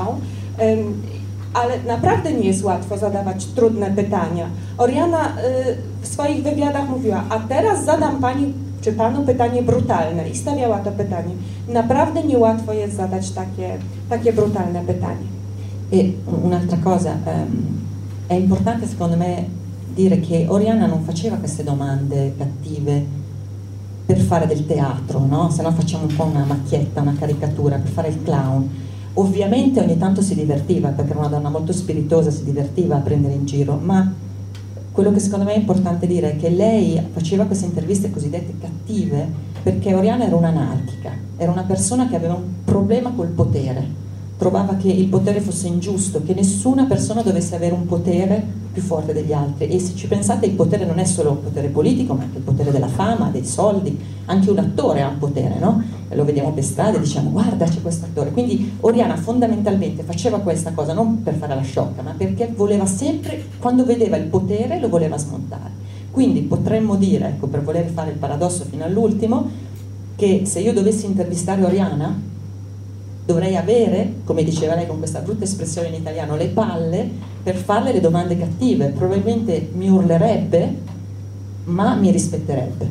ale naprawdę nie jest łatwo zadawać trudne pytania. Oriana w swoich wywiadach mówiła, a teraz zadam pani czy panu pytanie brutalne i stawiała to pytanie. Naprawdę niełatwo jest zadać takie brutalne pytanie. E un'altra cosa, è importante secondo me dire che Oriana non faceva queste domande cattive per fare del teatro, no? Se no facciamo un po' una macchietta, una caricatura, per fare il clown. Ovviamente ogni tanto si divertiva, perché era una donna molto spiritosa, si divertiva a prendere in giro, ma quello che secondo me è importante dire è che lei faceva queste interviste cosiddette cattive perché Oriana era un'anarchica, era una persona che aveva un problema col potere, trovava che il potere fosse ingiusto, che nessuna persona dovesse avere un potere più forte degli altri. E se ci pensate, il potere non è solo il potere politico, ma anche il potere della fama, dei soldi. Anche un attore ha un potere, no? E lo vediamo per strada e diciamo guarda c'è questo attore. Quindi Oriana fondamentalmente faceva questa cosa non per fare la sciocca, ma perché voleva sempre, quando vedeva il potere lo voleva smontare. Quindi potremmo dire, ecco, per voler fare il paradosso fino all'ultimo, che se io dovessi intervistare Oriana dovrei avere, come diceva lei con questa brutta espressione in italiano, le palle per farle le domande cattive. Probabilmente mi urlerebbe, ma mi rispetterebbe.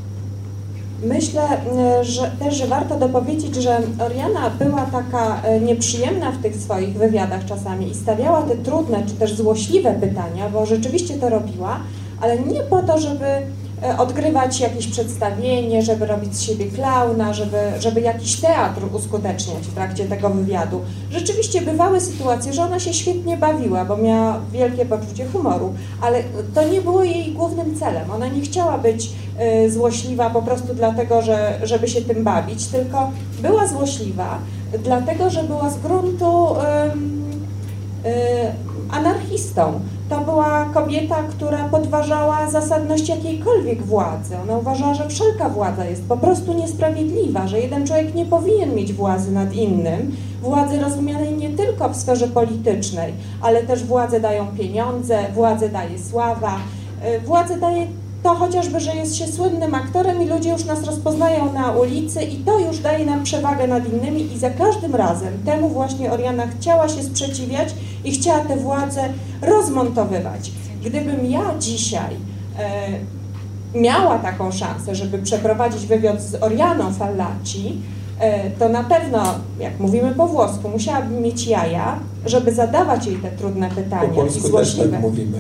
Myślę że warto dopowiedzieć, że Oriana była taka nieprzyjemna w tych swoich wywiadach czasami i stawiała te trudne czy też złośliwe pytania, bo rzeczywiście to robiła, ale nie po to, żeby odgrywać jakieś przedstawienie, żeby robić z siebie klauna, żeby jakiś teatr uskuteczniać w trakcie tego wywiadu. Rzeczywiście bywały sytuacje, że ona się świetnie bawiła, bo miała wielkie poczucie humoru, ale to nie było jej głównym celem. Ona nie chciała być złośliwa po prostu dlatego, żeby się tym bawić, tylko była złośliwa dlatego, że była z gruntu anarchistą. To była kobieta, która podważała zasadność jakiejkolwiek władzy. Ona uważała, że wszelka władza jest po prostu niesprawiedliwa, że jeden człowiek nie powinien mieć władzy nad innym. Władzy rozumianej nie tylko w sferze politycznej, ale też władzę dają pieniądze, władzę daje sława, władzę daje to chociażby, że jest się słynnym aktorem i ludzie już nas rozpoznają na ulicy i to już daje nam przewagę nad innymi i za każdym razem temu właśnie Oriana chciała się sprzeciwiać i chciała tę władzę rozmontowywać. Gdybym ja dzisiaj miała taką szansę, żeby przeprowadzić wywiad z Orianą Fallaci, to na pewno, jak mówimy po włosku, musiałabym mieć jaja, żeby zadawać jej te trudne pytania po polsku i złośliwe. też tak mówimy.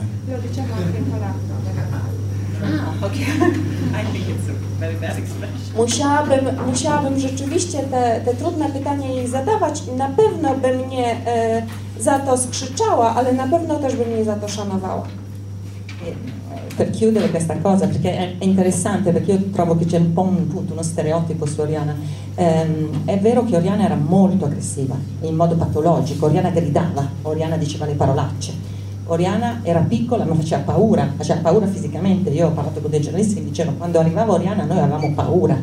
Musiałabym rzeczywiście te trudne pytania jej zadawać i na pewno by mnie za to skrzyczała, ale na pewno też by mnie za to szanowała. Per chiudere questa cosa, perché è interessante, perché io trovo che c'è un po' uno stereotipo su Oriana. È vero che Oriana era molto aggressiva, in modo patologico, Oriana gridava, Oriana diceva le parolacce. Oriana era piccola ma faceva paura fisicamente. Io ho parlato con dei giornalisti che dicevano quando arrivava Oriana noi avevamo paura,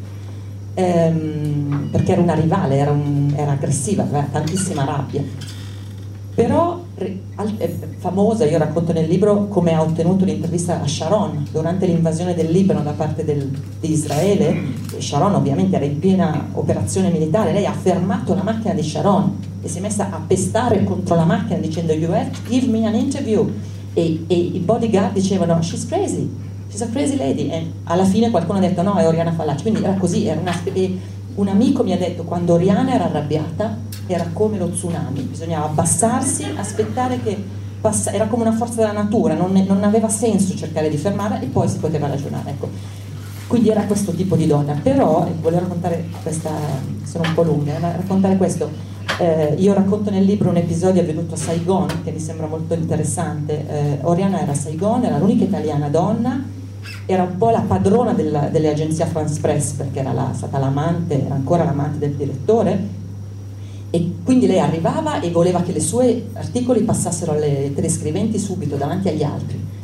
perché era una rivale, era aggressiva, aveva tantissima rabbia. Però è famosa, io racconto nel libro come ha ottenuto l'intervista a Sharon durante l'invasione del Libano da parte di Israele. Sharon ovviamente era in piena operazione militare, lei ha fermato la macchina di Sharon e si è messa a pestare contro la macchina dicendo "You have to give me an interview", e i bodyguard dicevano "She's crazy, she's a crazy lady", e alla fine qualcuno ha detto no, è Oriana Fallaci. Quindi era così, un amico mi ha detto quando Oriana era arrabbiata era come lo tsunami, bisognava abbassarsi, aspettare che passasse, era come una forza della natura, non aveva senso cercare di fermarla e poi si poteva ragionare, ecco. Quindi era questo tipo di donna. Però volevo raccontare questa, sono un po' lunga, raccontare questo. Io racconto nel libro un episodio avvenuto a Saigon che mi sembra molto interessante. Oriana era a Saigon, era l'unica italiana donna, era un po' la padrona delle agenzie France Press perché era stata l'amante, era ancora l'amante del direttore, e quindi lei arrivava e voleva che i suoi articoli passassero alle telescriventi subito davanti agli altri.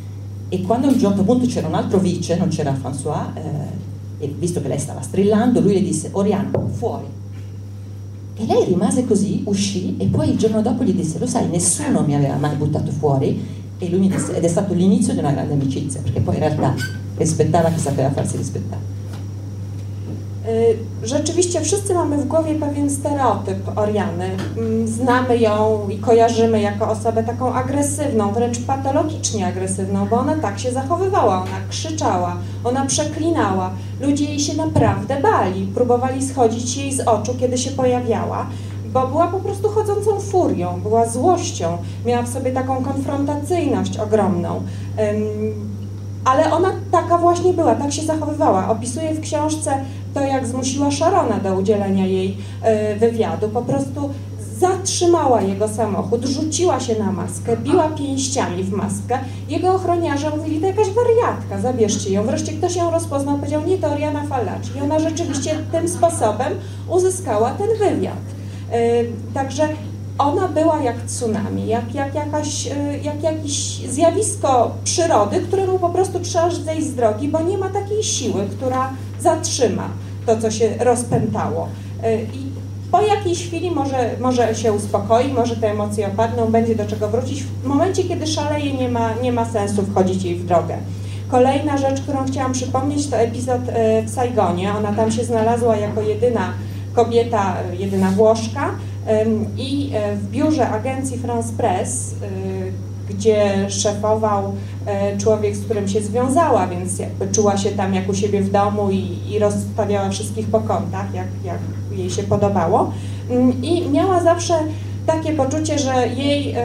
E quando a un certo punto c'era un altro vice, non c'era François, e visto che lei stava strillando, lui le disse: Oriana, fuori. E lei rimase così, uscì, e poi il giorno dopo gli disse: lo sai, nessuno mi aveva mai buttato fuori. E lui mi disse, ed è stato l'inizio di una grande amicizia, perché poi in realtà rispettava chi sapeva farsi rispettare. Rzeczywiście wszyscy mamy w głowie pewien stereotyp Oriany. Znamy ją i kojarzymy jako osobę taką agresywną, wręcz patologicznie agresywną, bo ona tak się zachowywała, ona krzyczała, ona przeklinała. Ludzie jej się naprawdę bali, próbowali schodzić jej z oczu, kiedy się pojawiała, bo była po prostu chodzącą furią, była złością, miała w sobie taką konfrontacyjność ogromną. Ale ona taka właśnie była, tak się zachowywała. Opisuje w książce to, jak zmusiła Sharona do udzielenia jej wywiadu. Po prostu zatrzymała jego samochód, rzuciła się na maskę, biła pięściami w maskę. Jego ochroniarze mówili: to jakaś wariatka, zabierzcie ją. Wreszcie ktoś ją rozpoznał, powiedział: nie, to Oriana Fallaci. I ona rzeczywiście tym sposobem uzyskała ten wywiad. Także ona była jak tsunami, jak jakieś zjawisko przyrody, któremu po prostu trzeba zejść z drogi, bo nie ma takiej siły, która zatrzyma to, co się rozpętało. I po jakiejś chwili może się uspokoi, może te emocje opadną, będzie do czego wrócić. W momencie, kiedy szaleje, nie ma sensu wchodzić jej w drogę. Kolejna rzecz, którą chciałam przypomnieć, to epizod w Saigonie. Ona tam się znalazła jako jedyna kobieta, jedyna Włoszka, i w biurze agencji France Press, gdzie szefował człowiek, z którym się związała, więc jakby czuła się tam jak u siebie w domu i rozstawiała wszystkich po kątach, jak jej się podobało. I miała zawsze takie poczucie, że jej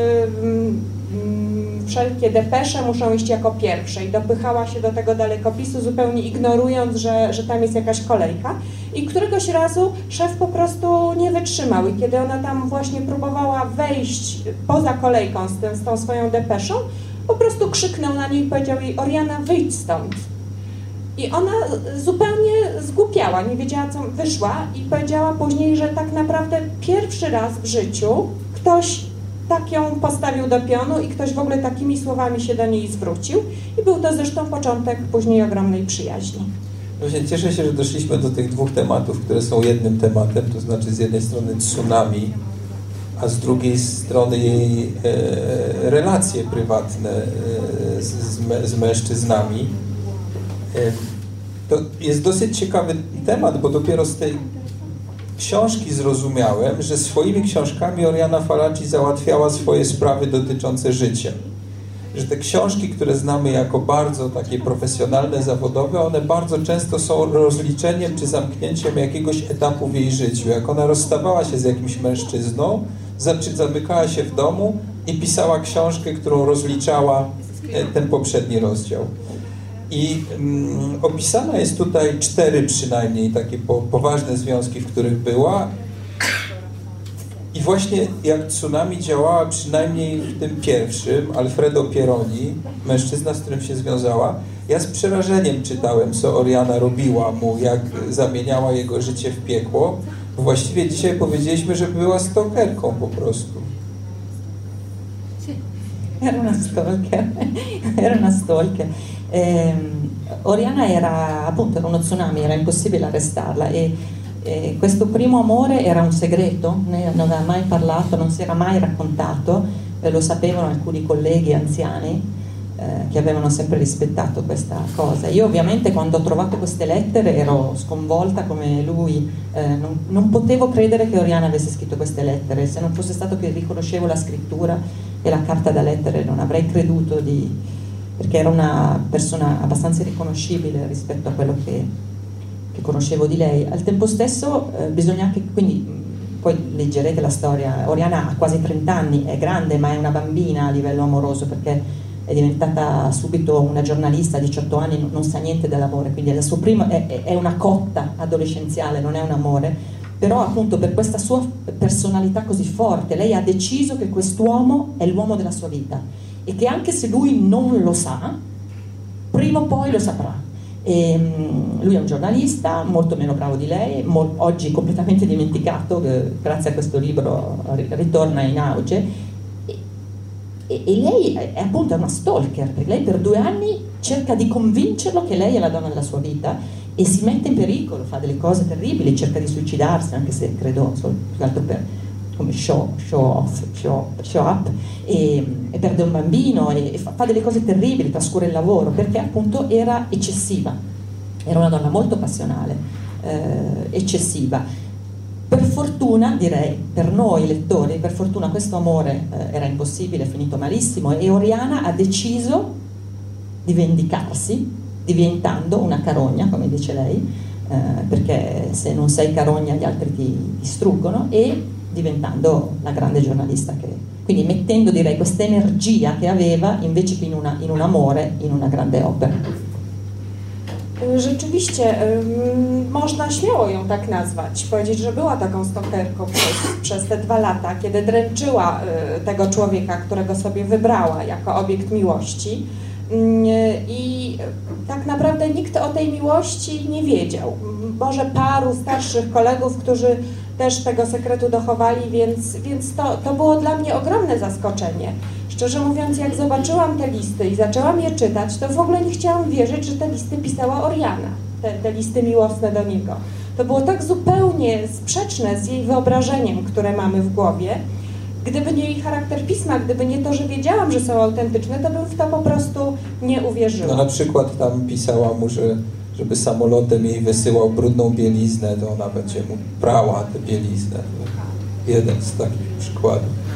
wszelkie depesze muszą iść jako pierwsze i dopychała się do tego dalekopisu, zupełnie ignorując, że tam jest jakaś kolejka. I któregoś razu szef po prostu nie wytrzymał i kiedy ona tam właśnie próbowała wejść poza kolejką z tą swoją depeszą, po prostu krzyknął na niej i powiedział jej: Oriana, wyjdź stąd. I ona zupełnie zgłupiała, nie wiedziała, co wyszła, i powiedziała później, że tak naprawdę pierwszy raz w życiu ktoś tak ją postawił do pionu i ktoś w ogóle takimi słowami się do niej zwrócił, i był to zresztą początek później ogromnej przyjaźni. Właśnie cieszę się, że doszliśmy do tych dwóch tematów, które są jednym tematem, to znaczy z jednej strony tsunami, a z drugiej strony jej relacje prywatne z mężczyznami. To jest dosyć ciekawy temat, bo dopiero z tej książki zrozumiałem, że swoimi książkami Oriana Fallaci załatwiała swoje sprawy dotyczące życia. Że te książki, które znamy jako bardzo takie profesjonalne, zawodowe, one bardzo często są rozliczeniem czy zamknięciem jakiegoś etapu w jej życiu. Jak ona rozstawała się z jakimś mężczyzną, zamykała się w domu i pisała książkę, którą rozliczała ten poprzedni rozdział. I opisana jest tutaj 4 przynajmniej takie poważne związki, w których była. I właśnie jak tsunami działała, przynajmniej w tym pierwszym, Alfredo Pieroni, mężczyzna, z którym się związała, ja z przerażeniem czytałem, co Oriana robiła mu, jak zamieniała jego życie w piekło. Właściwie dzisiaj powiedzieliśmy, że była stalkerką po prostu. Era una stalker. Oriana era appunto uno tsunami, era impossibile arrestarla, e questo primo amore era un segreto, non aveva mai parlato, non si era mai raccontato, lo sapevano alcuni colleghi anziani che avevano sempre rispettato questa cosa. Io ovviamente quando ho trovato queste lettere ero sconvolta come lui, non potevo credere che Oriana avesse scritto queste lettere. Se non fosse stato che riconoscevo la scrittura e la carta da lettere non avrei creduto perché era una persona abbastanza riconoscibile rispetto a quello che conoscevo di lei. Al tempo stesso bisogna anche, quindi poi leggerete la storia, Oriana ha quasi 30 anni, è grande ma è una bambina a livello amoroso, perché è diventata subito una giornalista a 18 anni, non sa niente dell'amore, quindi il suo primo è una cotta adolescenziale, non è un amore, però appunto per questa sua personalità così forte lei ha deciso che quest'uomo è l'uomo della sua vita e che anche se lui non lo sa, prima o poi lo saprà. Lui è un giornalista molto meno bravo di lei, oggi completamente dimenticato, grazie a questo libro ritorna in auge, e lei è appunto una stalker, perché lei per 2 anni cerca di convincerlo che lei è la donna della sua vita e si mette in pericolo, fa delle cose terribili, cerca di suicidarsi, anche se credo più che altro per come show up, e perde un bambino e fa delle cose terribili, trascura il lavoro, perché appunto era eccessiva, era una donna molto passionale, eccessiva. Per fortuna, direi, per noi lettori, per fortuna questo amore era impossibile, è finito malissimo, e Oriana ha deciso di vendicarsi diventando una carogna, come dice lei, perché se non sei carogna gli altri ti distruggono, e diventando la grande giornalista che... Quindi mettendo, direi, questa energia che aveva invece che in un amore, in una grande opera. Rzeczywiście można śmiało ją tak nazwać, powiedzieć, że była taką stalkerką przez te 2 lata, kiedy dręczyła tego człowieka, którego sobie wybrała jako obiekt miłości, i tak naprawdę nikt o tej miłości nie wiedział. Może paru starszych kolegów, którzy też tego sekretu dochowali, więc to było dla mnie ogromne zaskoczenie. Szczerze mówiąc, jak zobaczyłam te listy i zaczęłam je czytać, to w ogóle nie chciałam wierzyć, że te listy pisała Oriana, te listy miłosne do niego. To było tak zupełnie sprzeczne z jej wyobrażeniem, które mamy w głowie. Gdyby nie jej charakter pisma, gdyby nie to, że wiedziałam, że są autentyczne, to bym w to po prostu nie uwierzyła. No na przykład tam pisała mu, że żeby samolotem jej wysyłał brudną bieliznę, to ona będzie mu prała tę bieliznę. Jeden z takich przykładów.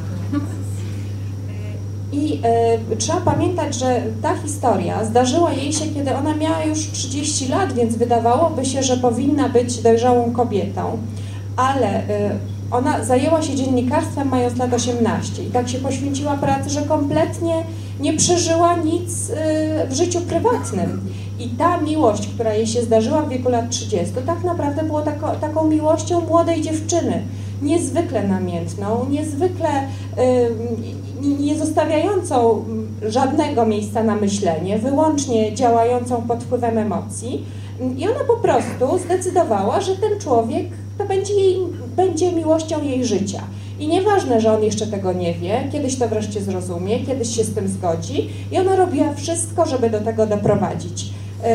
I trzeba pamiętać, że ta historia zdarzyła jej się, kiedy ona miała już 30 lat, więc wydawałoby się, że powinna być dojrzałą kobietą, ale ona zajęła się dziennikarstwem mając lat 18 i tak się poświęciła pracy, że kompletnie nie przeżyła nic w życiu prywatnym. I ta miłość, która jej się zdarzyła w wieku lat 30, tak naprawdę było taką miłością młodej dziewczyny, niezwykle namiętną, niezwykle nie zostawiającą żadnego miejsca na myślenie, wyłącznie działającą pod wpływem emocji. I ona po prostu zdecydowała, że ten człowiek to będzie miłością jej życia. I nieważne, że on jeszcze tego nie wie, kiedyś to wreszcie zrozumie, kiedyś się z tym zgodzi, i ona robiła wszystko, żeby do tego doprowadzić.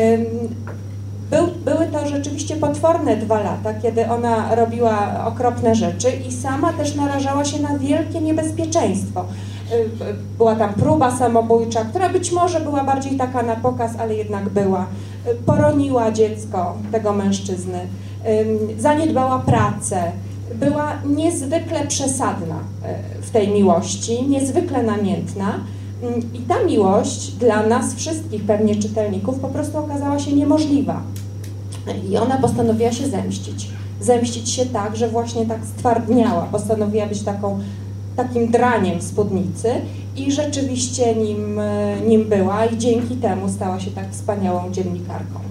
Były to rzeczywiście potworne 2 lata, kiedy ona robiła okropne rzeczy i sama też narażała się na wielkie niebezpieczeństwo. Była tam próba samobójcza, która być może była bardziej taka na pokaz, ale jednak była. Poroniła dziecko tego mężczyzny, zaniedbała pracę, była niezwykle przesadna w tej miłości, niezwykle namiętna. I ta miłość dla nas wszystkich, pewnie czytelników, po prostu okazała się niemożliwa. I ona postanowiła się zemścić. Zemścić się tak, że właśnie tak stwardniała. Postanowiła być takim draniem w spódnicy i rzeczywiście nim była i dzięki temu stała się tak wspaniałą dziennikarką.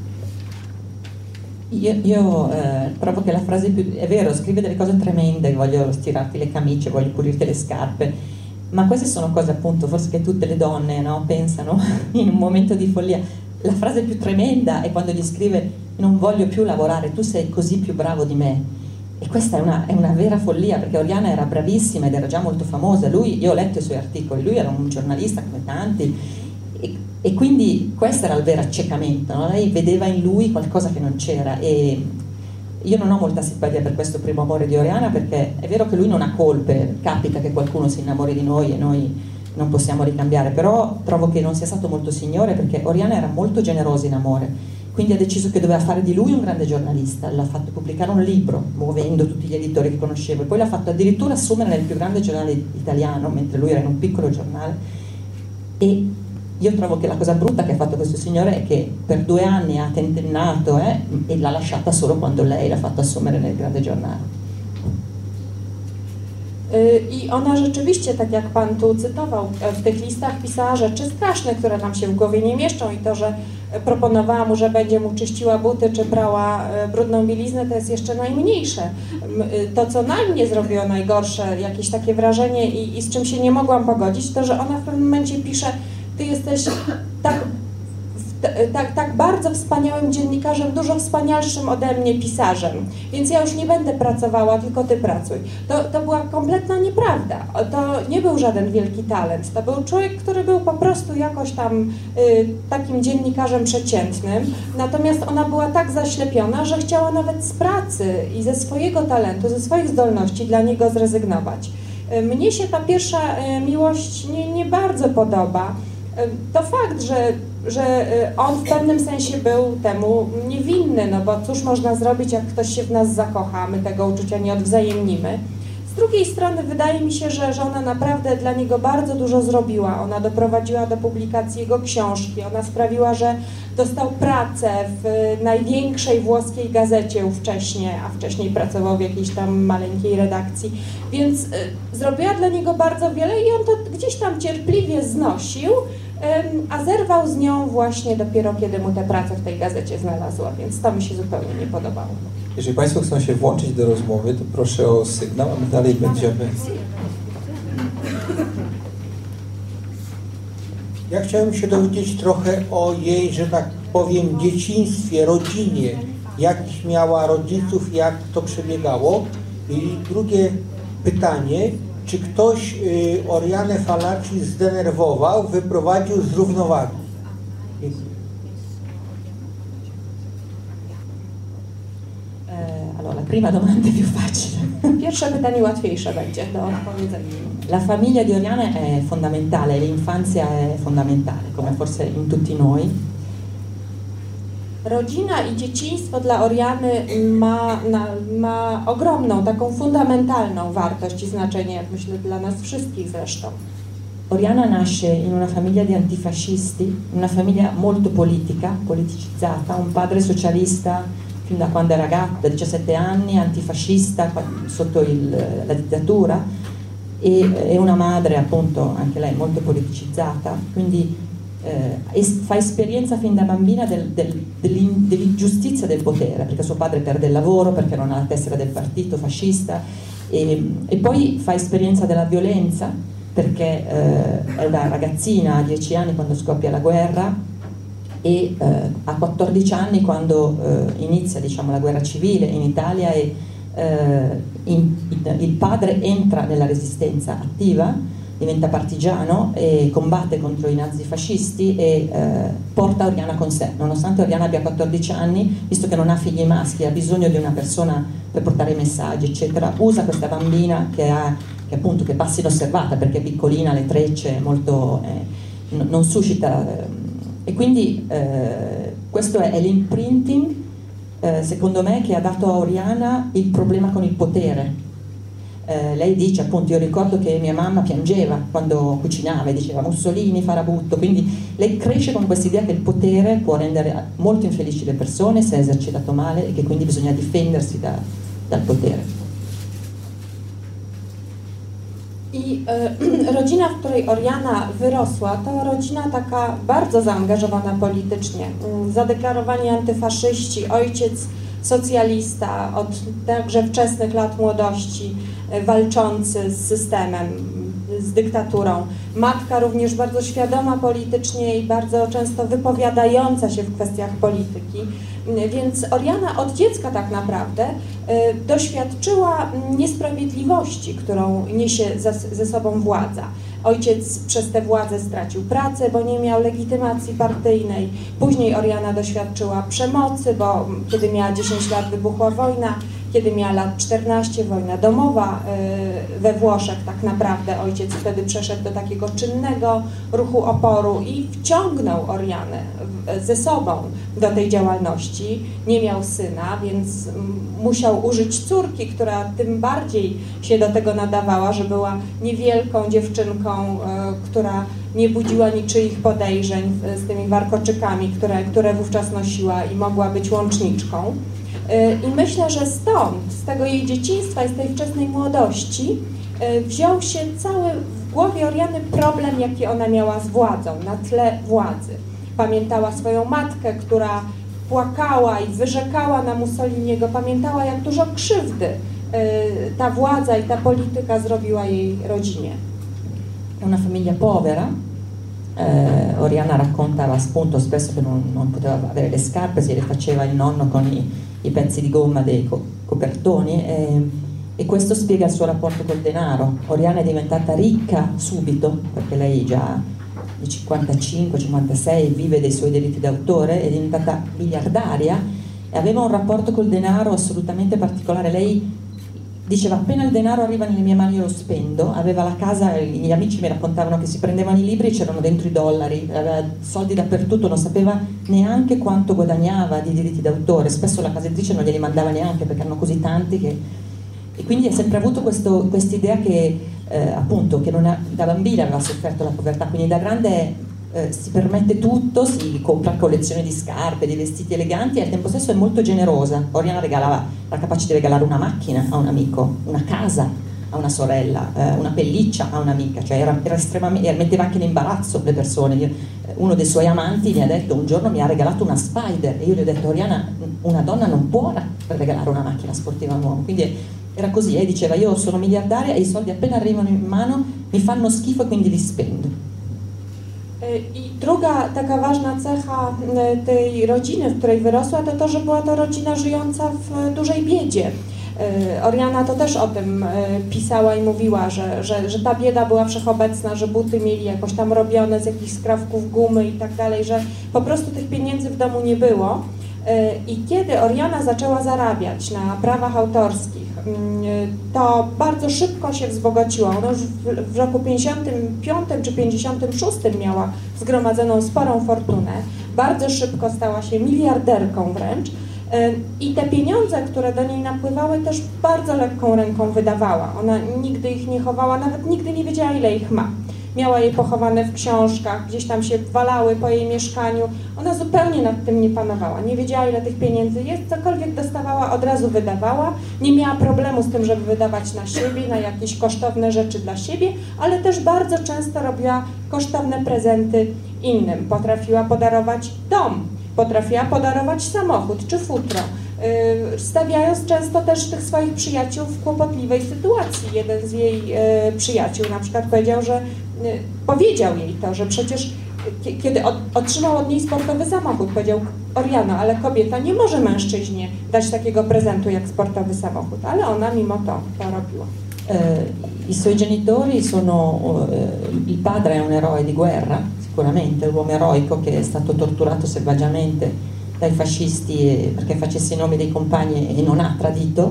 Io trovo che la frase più... È vero, scrive delle cose tremende, voglio stirarti le camicie, voglio pulirti le scarpe, ma queste sono cose appunto forse che tutte le donne, no, pensano in un momento di follia. La frase più tremenda è quando gli scrive: non voglio più lavorare, tu sei così più bravo di me. E questa è una vera follia, perché Oriana era bravissima ed era già molto famosa. Io ho letto i suoi articoli, lui era un giornalista come tanti, e quindi questo era il vero accecamento, no? Lei vedeva in lui qualcosa che non c'era, e io non ho molta simpatia per questo primo amore di Oriana, perché è vero che lui non ha colpe, capita che qualcuno si innamori di noi e noi non possiamo ricambiare, però trovo che non sia stato molto signore, perché Oriana era molto generosa in amore, quindi ha deciso che doveva fare di lui un grande giornalista, l'ha fatto pubblicare un libro, muovendo tutti gli editori che conoscevo, e poi l'ha fatto addirittura assumere nel più grande giornale italiano, mentre lui era in un piccolo giornale. E io trovo che la cosa brutta che ha fatto questo signore è che per 2 anni ha tentennato e l'ha lasciata solo quando lei l'ha fatto assumere nel grande giornale. I ona rzeczywiście, tak jak Pan tu cytował, w tych listach pisała rzeczy straszne, które nam się w głowie nie mieszczą, i to, że proponowała mu, że będzie mu czyściła buty czy prała brudną bieliznę, to jest jeszcze najmniejsze. To, co na mnie zrobiło najgorsze, jakieś takie wrażenie i z czym się nie mogłam pogodzić, to, że ona w pewnym momencie pisze: ty jesteś tak bardzo wspaniałym dziennikarzem, dużo wspanialszym ode mnie pisarzem, więc ja już nie będę pracowała, tylko ty pracuj. To była kompletna nieprawda. To nie był żaden wielki talent. To był człowiek, który był po prostu jakoś tam takim dziennikarzem przeciętnym, natomiast ona była tak zaślepiona, że chciała nawet z pracy i ze swojego talentu, ze swoich zdolności dla niego zrezygnować. Mnie się ta pierwsza miłość nie bardzo podoba. To fakt, że on w pewnym sensie był temu niewinny, no bo cóż można zrobić, jak ktoś się w nas zakocha, my tego uczucia nie odwzajemnimy. Z drugiej strony wydaje mi się, że ona naprawdę dla niego bardzo dużo zrobiła. Ona doprowadziła do publikacji jego książki, ona sprawiła, że dostał pracę w największej włoskiej gazecie ówcześnie, a wcześniej pracował w jakiejś tam maleńkiej redakcji, więc zrobiła dla niego bardzo wiele i on to gdzieś tam cierpliwie znosił, a zerwał z nią właśnie dopiero, kiedy mu tę pracę w tej gazecie znalazła, więc to mi się zupełnie nie podobało. Jeżeli Państwo chcą się włączyć do rozmowy, to proszę o sygnał, a my dalej będziemy. Ja chciałem się dowiedzieć trochę o jej, że tak powiem, dzieciństwie, rodzinie. Jakich miała rodziców, jak to przebiegało. I drugie pytanie, czy ktoś Orianę Fallaci zdenerwował, wyprowadził z równowagi? Allora, la prima domanda è più facile. Pierwsze pytanie łatwiejsze będzie do odpowiedzenia. La famiglia di Oriana è fondamentale, l'infanzia è fondamentale, come forse in tutti noi. Rodzina i dzieciństwo dla Oriany ma ogromną, taką fundamentalną wartość i znaczenie, jak myślę, dla nas wszystkich zresztą. Oriana nasce in una famiglia di antifascisti, una famiglia molto politicizzata, un padre socialista fin da quando è ragazza, da 17 anni, antifascista sotto la dittatura, e una madre appunto anche lei molto politicizzata, quindi fa esperienza fin da bambina dell'ingiustizia del potere, perché suo padre perde il lavoro, perché non ha la tessera del partito fascista, e poi fa esperienza della violenza, perché è una ragazzina a 10 anni quando scoppia la guerra, e a 14 anni quando inizia, diciamo, la guerra civile in Italia, e il padre entra nella resistenza attiva, diventa partigiano e combatte contro i nazifascisti e porta Oriana con sé. Nonostante Oriana abbia 14 anni, visto che non ha figli maschi, ha bisogno di una persona per portare i messaggi, eccetera, usa questa bambina che passa inosservata perché è piccolina, le trecce, molto, non suscita... E quindi questo è l'imprinting, secondo me, che ha dato a Oriana il problema con il potere. Lei dice, appunto, io ricordo che mia mamma piangeva quando cucinava e diceva Mussolini, Farabutto, quindi lei cresce con questa idea che il potere può rendere molto infelici le persone se è esercitato male e che quindi bisogna difendersi dal potere. I rodzina, w której Oriana wyrosła, to rodzina taka bardzo zaangażowana politycznie. Zadeklarowani antyfaszyści, ojciec socjalista od także wczesnych lat młodości, walczący z systemem, z dyktaturą. Matka również bardzo świadoma politycznie i bardzo często wypowiadająca się w kwestiach polityki. Więc Oriana od dziecka tak naprawdę doświadczyła niesprawiedliwości, którą niesie ze sobą władza. Ojciec przez tę władzę stracił pracę, bo nie miał legitymacji partyjnej. Później Oriana doświadczyła przemocy, bo kiedy miała 10 lat wybuchła wojna, kiedy miała lat 14, wojna domowa we Włoszech, tak naprawdę ojciec wtedy przeszedł do takiego czynnego ruchu oporu i wciągnął Orianę ze sobą do tej działalności. Nie miał syna, więc musiał użyć córki, która tym bardziej się do tego nadawała, że była niewielką dziewczynką, która nie budziła niczyich podejrzeń z tymi warkoczykami, które wówczas nosiła i mogła być łączniczką. I myślę, że stąd, z tego jej dzieciństwa i z tej wczesnej młodości wziął się cały w głowie Oriany problem, jaki ona miała z władzą, na tle władzy. Pamiętała swoją matkę, która płakała i wyrzekała na Mussoliniego, pamiętała, jak dużo krzywdy ta władza i ta polityka zrobiła jej rodzinie. È una famiglia povera, Oriana raccontava appunto spesso che non poteva avere le scarpe, se le faceva il nonno con i pezzi di gomma dei copertoni, e questo spiega il suo rapporto col denaro. Oriana è diventata ricca subito, perché lei già di 55-56 vive dei suoi diritti d'autore, è diventata miliardaria e aveva un rapporto col denaro assolutamente particolare. Lei diceva: appena il denaro arriva nelle mie mani io lo spendo. Aveva la casa, gli amici mi raccontavano che si prendevano i libri e c'erano dentro i dollari, aveva soldi dappertutto, non sapeva neanche quanto guadagnava di diritti d'autore, spesso la casa editrice non glieli mandava neanche perché erano così tanti che... E quindi ha sempre avuto quest'idea che appunto che da bambina aveva sofferto la povertà, quindi da grande si permette tutto, si compra collezioni di scarpe, di vestiti eleganti e al tempo stesso è molto generosa. Oriana era capace di regalare una macchina a un amico, una casa a una sorella, una pelliccia a un'amica, cioè era estremamente, metteva anche in imbarazzo le persone. Uno dei suoi amanti mi ha detto un giorno, mi ha regalato una Spider, e io gli ho detto: Oriana, una donna non può regalare una macchina sportiva a un uomo. Quindi era così, diceva: io sono miliardaria e i soldi appena arrivano in mano mi fanno schifo e quindi li spendo. I druga taka ważna cecha tej rodziny, w której wyrosła, to to, że była to rodzina żyjąca w dużej biedzie. Oriana to też o tym pisała i mówiła, że ta bieda była wszechobecna, że buty mieli jakoś tam robione z jakichś skrawków gumy i tak dalej, że po prostu tych pieniędzy w domu nie było. I kiedy Oriana zaczęła zarabiać na prawach autorskich, to bardzo szybko się wzbogaciła. Ona już w roku 55 czy 56 miała zgromadzoną sporą fortunę. Bardzo szybko stała się miliarderką wręcz. I te pieniądze, które do niej napływały, też bardzo lekką ręką wydawała. Ona nigdy ich nie chowała, nawet nigdy nie wiedziała, ile ich ma. Miała je pochowane w książkach, gdzieś tam się walały po jej mieszkaniu. Ona zupełnie nad tym nie panowała, nie wiedziała, ile tych pieniędzy jest, cokolwiek dostawała, od razu wydawała. Nie miała problemu z tym, żeby wydawać na siebie, na jakieś kosztowne rzeczy dla siebie, ale też bardzo często robiła kosztowne prezenty innym. Potrafiła podarować dom, potrafiła podarować samochód czy futro, stawiając często też tych swoich przyjaciół w kłopotliwej sytuacji. Jeden z jej przyjaciół na przykład powiedział jej to, że przecież kiedy otrzymał od niej sportowy samochód, powiedział: Oriana, ale kobieta nie może mężczyźnie dać takiego prezentu jak sportowy samochód, ale ona mimo to robiła. I suoi genitori sono, il padre è un eroe di guerra, sicuramente, un uomo eroico che è stato torturato selvaggiamente dai fascisti perché facesse i nomi dei compagni e non ha tradito,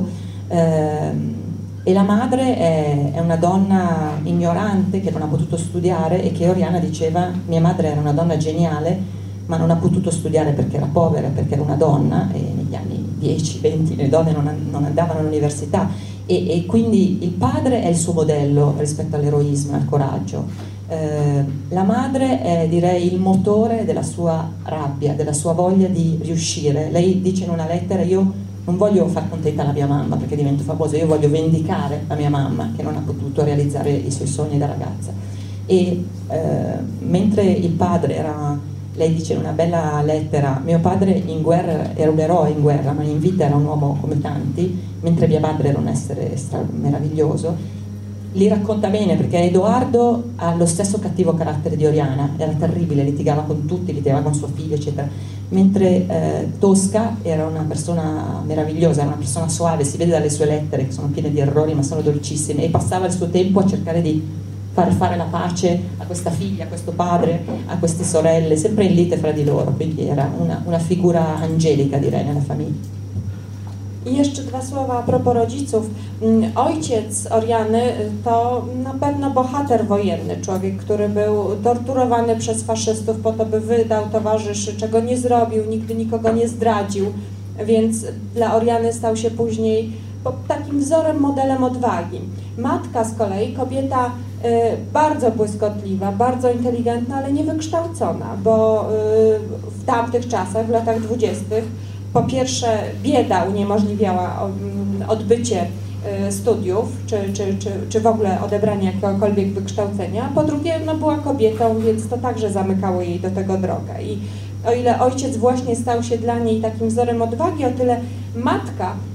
e la madre è una donna ignorante che non ha potuto studiare e che Oriana diceva: mia madre era una donna geniale ma non ha potuto studiare perché era povera, perché era una donna, e negli anni 10-20 le donne non andavano all'università, e quindi il padre è il suo modello rispetto all'eroismo e al coraggio. La madre è, direi, il motore della sua rabbia, della sua voglia di riuscire. Lei dice in una lettera: io non voglio far contenta la mia mamma perché divento famosa, io voglio vendicare la mia mamma che non ha potuto realizzare i suoi sogni da ragazza. E mentre il padre era, lei dice in una bella lettera: mio padre in guerra era un eroe in guerra, ma in vita era un uomo come tanti, mentre mia madre era un essere meraviglioso. Li racconta bene perché Edoardo ha lo stesso cattivo carattere di Oriana, era terribile, litigava con tutti, litigava con suo figlio eccetera, mentre Tosca era una persona meravigliosa, era una persona soave, si vede dalle sue lettere che sono piene di errori ma sono dolcissime, e passava il suo tempo a cercare di far fare la pace a questa figlia, a questo padre, a queste sorelle, sempre in lite fra di loro, quindi era una figura angelica, direi, nella famiglia. I jeszcze dwa słowa a propos rodziców. Ojciec Oriany to na pewno bohater wojenny, człowiek, który był torturowany przez faszystów po to, by wydał towarzyszy, czego nie zrobił, nigdy nikogo nie zdradził, więc dla Oriany stał się później takim wzorem, modelem odwagi. Matka z kolei, kobieta bardzo błyskotliwa, bardzo inteligentna, ale niewykształcona, bo w tamtych czasach, w latach 20., po pierwsze bieda uniemożliwiała odbycie studiów, czy w ogóle odebranie jakiegokolwiek wykształcenia, po drugie była kobietą, więc to także zamykało jej do tego drogę. I o ile ojciec właśnie stał się dla niej takim wzorem odwagi, o tyle matka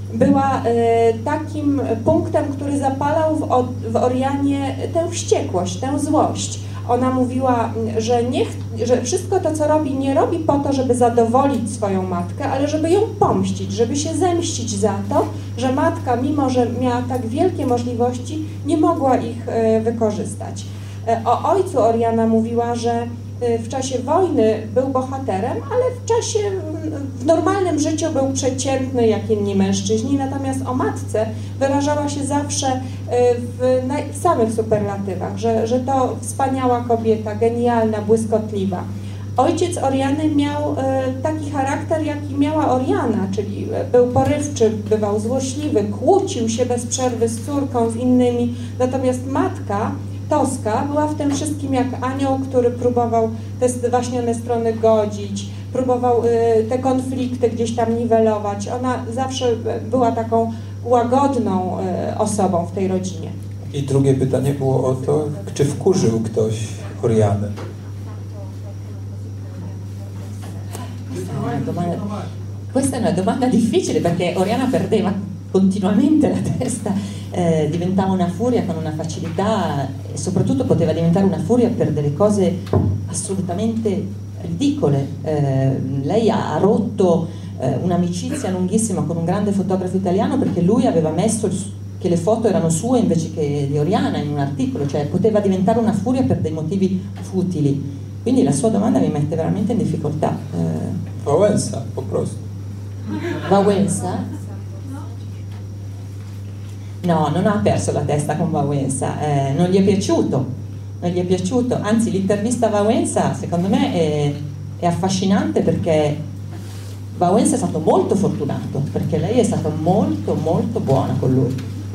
była takim punktem, który zapalał w Orianie tę wściekłość, tę złość. Ona mówiła, że wszystko to, co robi, nie robi po to, żeby zadowolić swoją matkę, ale żeby ją pomścić, żeby się zemścić za to, że matka, mimo że miała tak wielkie możliwości, nie mogła ich wykorzystać. O ojcu Oriana mówiła, że w czasie wojny był bohaterem, ale w normalnym życiu był przeciętny jak inni mężczyźni, natomiast o matce wyrażała się zawsze w samych superlatywach, że to wspaniała kobieta, genialna, błyskotliwa. Ojciec Oriany miał taki charakter, jaki miała Oriana, czyli był porywczy, bywał złośliwy, kłócił się bez przerwy z córką, z innymi, natomiast matka Toska była w tym wszystkim jak anioł, który próbował te zwaśnione strony godzić, próbował te konflikty gdzieś tam niwelować. Ona zawsze była taką łagodną osobą w tej rodzinie. I drugie pytanie było o to, czy wkurzył ktoś Orianę? Questa è una domanda difficile perché Oriana perdeva continuamente la testa, diventava una furia con una facilità e soprattutto poteva diventare una furia per delle cose assolutamente ridicole. Lei ha rotto un'amicizia lunghissima con un grande fotografo italiano perché lui aveva messo che le foto erano sue invece che di Oriana in un articolo, cioè poteva diventare una furia per dei motivi futili. Quindi la sua domanda mi mette veramente in difficoltà. Wałęsa, po prostu. Wałęsa? No, non ha perso la testa con Wałęsa, non gli è piaciuto, anzi l'intervista a Wałęsa secondo me è affascinante perché Wałęsa è stato molto fortunato, perché lei è stata molto, molto buona con lui.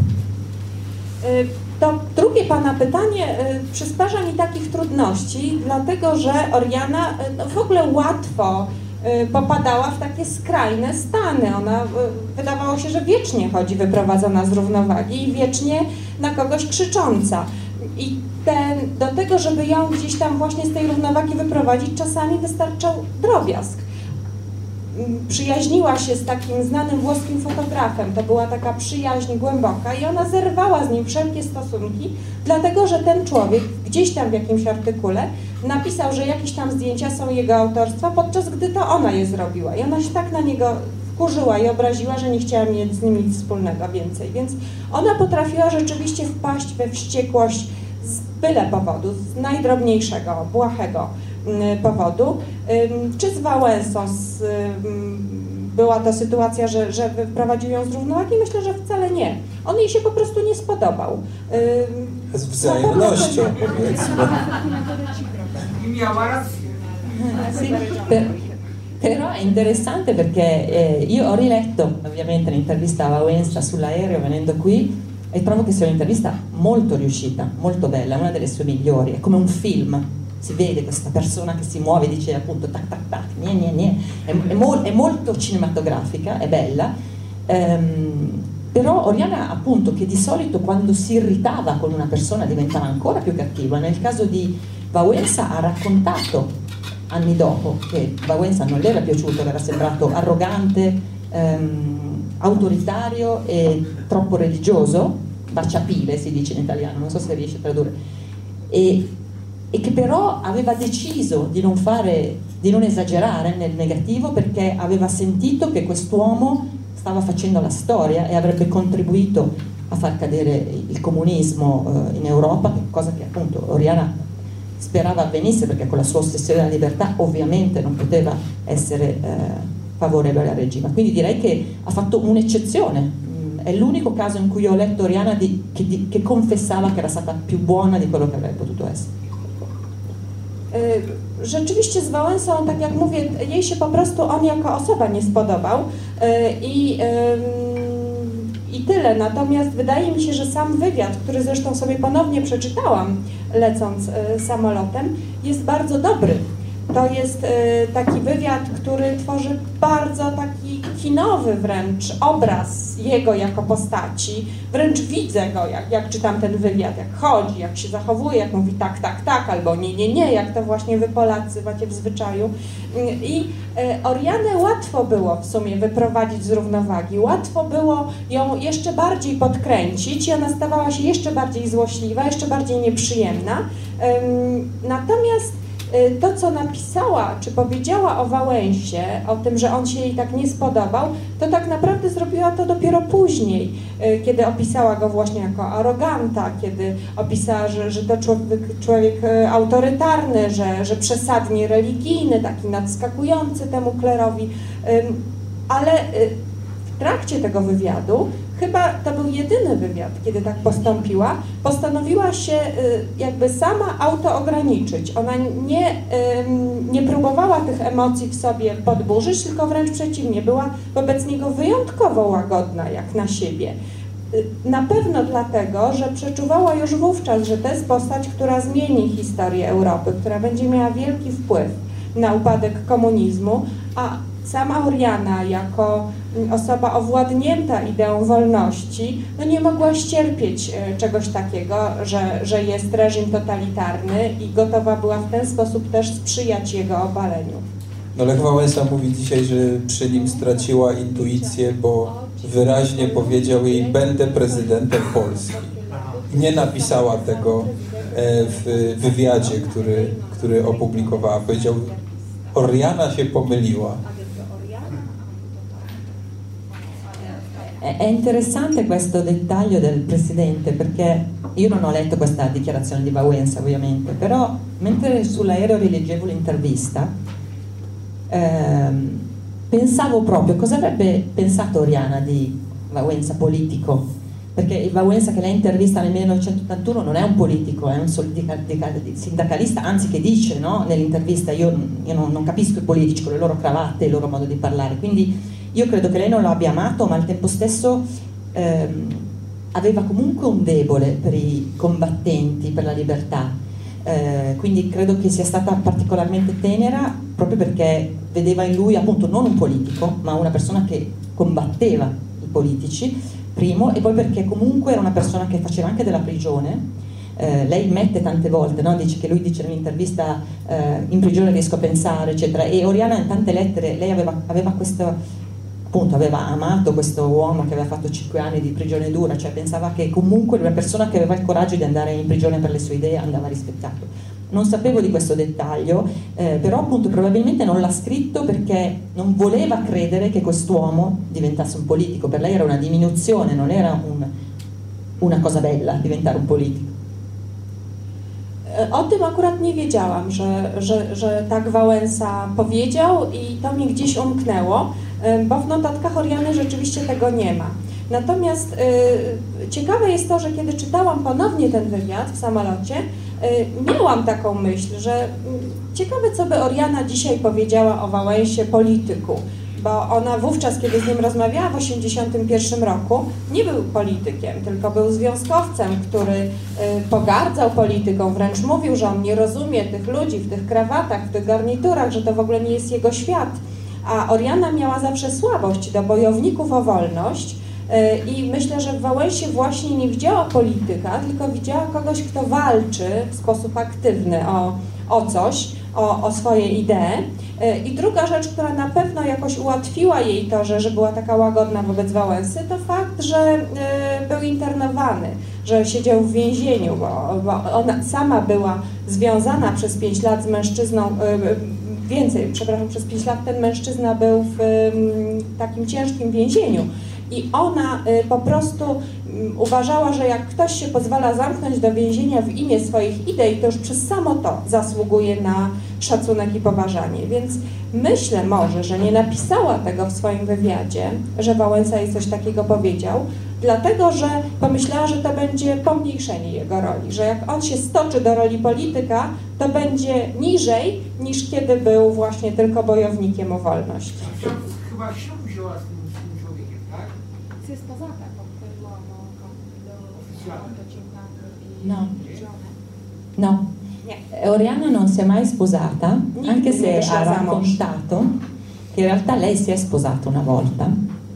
To drugie pana pytanie przysparza mi takich trudności, dlatego że Oriana w ogóle łatwo popadała w takie skrajne stany. Ona wydawało się, że wiecznie chodzi wyprowadzona z równowagi i wiecznie na kogoś krzycząca. I do tego, żeby ją gdzieś tam właśnie z tej równowagi wyprowadzić, czasami wystarczał drobiazg. Przyjaźniła się z takim znanym włoskim fotografem, to była taka przyjaźń głęboka i ona zerwała z nim wszelkie stosunki, dlatego że ten człowiek gdzieś tam w jakimś artykule napisał, że jakieś tam zdjęcia są jego autorstwa, podczas gdy to ona je zrobiła i ona się tak na niego wkurzyła i obraziła, że nie chciała mieć z nim nic wspólnego więcej, więc ona potrafiła rzeczywiście wpaść we wściekłość z byle powodu, z najdrobniejszego, błahego powodu. Czy z Wałęsą była to sytuacja, że wyprowadził ją z równowagi? Myślę, że wcale nie. On jej się po prostu nie spodobał. Z wzajemnością, powiedzmy. I miała rację. Sì, però è interessante perché io ho riletto ovviamente l'intervista a Wałęsa sull'aereo venendo qui e trovo che sia un'intervista molto riuscita, molto bella, una delle sue migliori, è come un film. Si vede questa persona che si muove, dice appunto tac tac tac, è molto cinematografica, è bella, però Oriana appunto che di solito quando si irritava con una persona diventava ancora più cattiva, nel caso di Wałęsa ha raccontato anni dopo che Wałęsa non le era piaciuto, le era sembrato arrogante, autoritario e troppo religioso, baciapile si dice in italiano, non so se riesce a tradurre, e che però aveva deciso di non esagerare nel negativo perché aveva sentito che quest'uomo stava facendo la storia e avrebbe contribuito a far cadere il comunismo in Europa, cosa che appunto Oriana sperava avvenisse perché con la sua ossessione della libertà ovviamente non poteva essere favorevole al regime. Quindi direi che ha fatto un'eccezione, è l'unico caso in cui ho letto Oriana che confessava che era stata più buona di quello che avrebbe potuto essere. Rzeczywiście z Wałęsą, tak jak mówię, jej się po prostu on jako osoba nie spodobał i tyle. Natomiast wydaje mi się, że sam wywiad, który zresztą sobie ponownie przeczytałam lecąc samolotem, jest bardzo dobry. To jest taki wywiad, który tworzy bardzo taki kinowy wręcz obraz jego jako postaci. Wręcz widzę go, jak czytam ten wywiad, jak chodzi, jak się zachowuje, jak mówi tak, tak, tak, albo nie, nie, nie, jak to właśnie wy Polacy macie w zwyczaju. I Orianę łatwo było w sumie wyprowadzić z równowagi, łatwo było ją jeszcze bardziej podkręcić i ona stawała się jeszcze bardziej złośliwa, jeszcze bardziej nieprzyjemna. Natomiast to, co napisała, czy powiedziała o Wałęsie, o tym, że on się jej tak nie spodobał, to tak naprawdę zrobiła to dopiero później, kiedy opisała go właśnie jako aroganta, kiedy opisała, że to człowiek autorytarny, że przesadnie religijny, taki nadskakujący temu klerowi, ale w trakcie tego wywiadu, chyba to był jedyny wywiad, kiedy tak postąpiła, postanowiła się jakby sama autoograniczyć. Ona nie próbowała tych emocji w sobie podburzyć, tylko wręcz przeciwnie, była wobec niego wyjątkowo łagodna jak na siebie. Na pewno dlatego, że przeczuwała już wówczas, że to jest postać, która zmieni historię Europy, która będzie miała wielki wpływ na upadek komunizmu, a sama Oriana jako osoba owładnięta ideą wolności, no nie mogła ścierpieć czegoś takiego, że jest reżim totalitarny i gotowa była w ten sposób też sprzyjać jego obaleniu. No Lech Wałęsa mówi dzisiaj, że przy nim straciła intuicję, bo wyraźnie powiedział jej: będę prezydentem Polski. Nie napisała tego w wywiadzie, który opublikowała. Powiedział: Oriana się pomyliła. È interessante questo dettaglio del Presidente, perché io non ho letto questa dichiarazione di Wałęsa ovviamente, però mentre sull'aereo rileggevo l'intervista pensavo proprio cosa avrebbe pensato Oriana di Wałęsa politico, perché il Wałęsa che lei intervista nel 1981 non è un politico, è un sindacalista, anzi che dice, no, nell'intervista io non capisco i politici con le loro cravatte e il loro modo di parlare, quindi io credo che lei non lo abbia amato, ma al tempo stesso aveva comunque un debole per i combattenti, per la libertà, quindi credo che sia stata particolarmente tenera proprio perché vedeva in lui appunto non un politico, ma una persona che combatteva i politici, primo, e poi perché comunque era una persona che faceva anche della prigione. Lei mette tante volte, no? Dice che lui dice nell'intervista in prigione riesco a pensare, eccetera, e Oriana in tante lettere, lei aveva questo, appunto, aveva amato questo uomo che aveva fatto 5 anni di prigione dura, cioè pensava che comunque una persona che aveva il coraggio di andare in prigione per le sue idee andava rispettato. Non sapevo di questo dettaglio, però appunto probabilmente non l'ha scritto perché non voleva credere che quest'uomo diventasse un politico. Per lei era una diminuzione, non era una cosa bella diventare un politico. O tym akurat nie wiedziałam, że tak Wałęsa powiedział i to mi gdzieś umknęło, bo w notatkach Oriany rzeczywiście tego nie ma. Natomiast ciekawe jest to, że kiedy czytałam ponownie ten wywiad w samolocie, miałam taką myśl, że ciekawe, co by Oriana dzisiaj powiedziała o Wałęsie polityku, bo ona wówczas, kiedy z nim rozmawiała w 1981 roku, nie był politykiem, tylko był związkowcem, który pogardzał polityką, wręcz mówił, że on nie rozumie tych ludzi w tych krawatach, w tych garniturach, że to w ogóle nie jest jego świat. A Oriana miała zawsze słabość do bojowników o wolność i myślę, że w Wałęsie właśnie nie widziała polityka, tylko widziała kogoś, kto walczy w sposób aktywny o coś, o swoje idee. I druga rzecz, która na pewno jakoś ułatwiła jej to, że była taka łagodna wobec Wałęsy, to fakt, że był internowany, że siedział w więzieniu, bo ona sama była związana przez 5 lat z mężczyzną, przez 5 lat ten mężczyzna był w takim ciężkim więzieniu. I ona po prostu uważała, że jak ktoś się pozwala zamknąć do więzienia w imię swoich idei, to już przez samo to zasługuje na szacunek i poważanie. Więc myślę może, że nie napisała tego w swoim wywiadzie, że Wałęsa jej coś takiego powiedział, dlatego że pomyślała, że to będzie pomniejszenie jego roli, że jak on się stoczy do roli polityka, to będzie niżej niż kiedy był właśnie tylko bojownikiem o wolność. Chyba ślub wzięła z tym człowiekiem, tak? Si è sposata con quell'uomo, con No. No. Oriana non si è mai sposata, anche se ha raccontato che in realtà lei si è sposata una volta.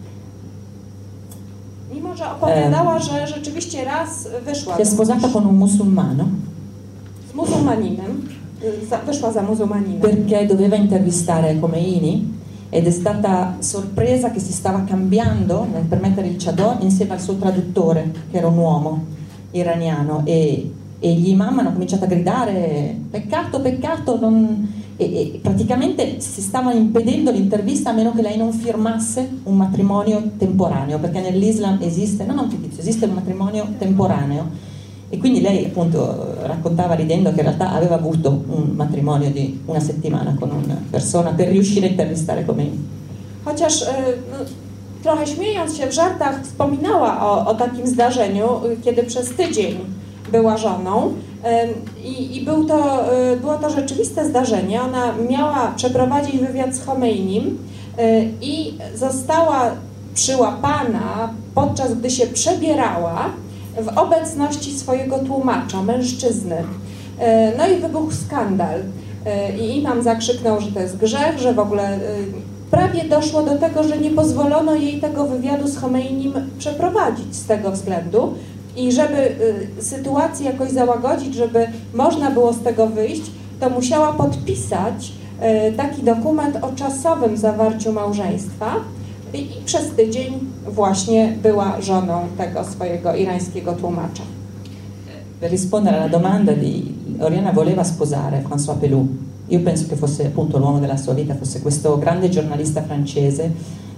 Mimo, że opowiadała, że rzeczywiście raz wyszła Si è sposata con un musulmano z muzułmaninem, wyszła za muzułmaninem. perché doveva intervistare Khomeini ed è stata sorpresa che si stava cambiando per mettere il chador insieme al suo traduttore, che era un uomo iraniano, e gli imam hanno cominciato a gridare peccato, peccato, e praticamente si stavano impedendo l'intervista a meno che lei non firmasse un matrimonio temporaneo, perché nell'Islam esiste, non fittizio, esiste un matrimonio temporaneo. E quindi lei appunto raccontava ridendo che in realtà aveva avuto un matrimonio di una settimana con una persona per riuscire a intervistare Khomeini. Chociaż trochę śmiejąc się w żartach wspominała o takim zdarzeniu, kiedy przez tydzień była żoną i było to rzeczywiste zdarzenie. Ona miała przeprowadzić wywiad z Khomeinim i została przyłapana, podczas gdy się przebierała, w obecności swojego tłumacza, mężczyzny. No i wybuchł skandal. I imam zakrzyknął, że to jest grzech, że w ogóle prawie doszło do tego, że nie pozwolono jej tego wywiadu z Khomeinim przeprowadzić z tego względu. I żeby sytuację jakoś załagodzić, żeby można było z tego wyjść, to musiała podpisać taki dokument o czasowym zawarciu małżeństwa. I przez tydzień właśnie była żoną tego swojego irańskiego tłumacza. Per rispondere alla domanda di Oriana voleva sposare François Pelloux. Io penso che fosse appunto l'uomo della sua vita, fosse questo grande giornalista francese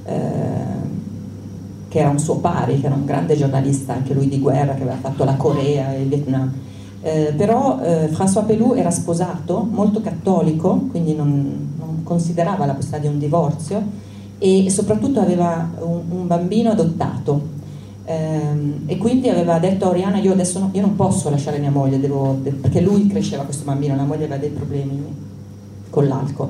che era un suo pari, che era un grande giornalista anche lui di guerra, che aveva fatto la Corea e il Vietnam. Però François Pelloux era sposato, molto cattolico, quindi non considerava la possibilità di un divorzio, e soprattutto aveva un bambino adottato, e quindi aveva detto a Oriana: io adesso io non posso lasciare mia moglie, perché lui cresceva questo bambino, la moglie aveva dei problemi con l'alcol,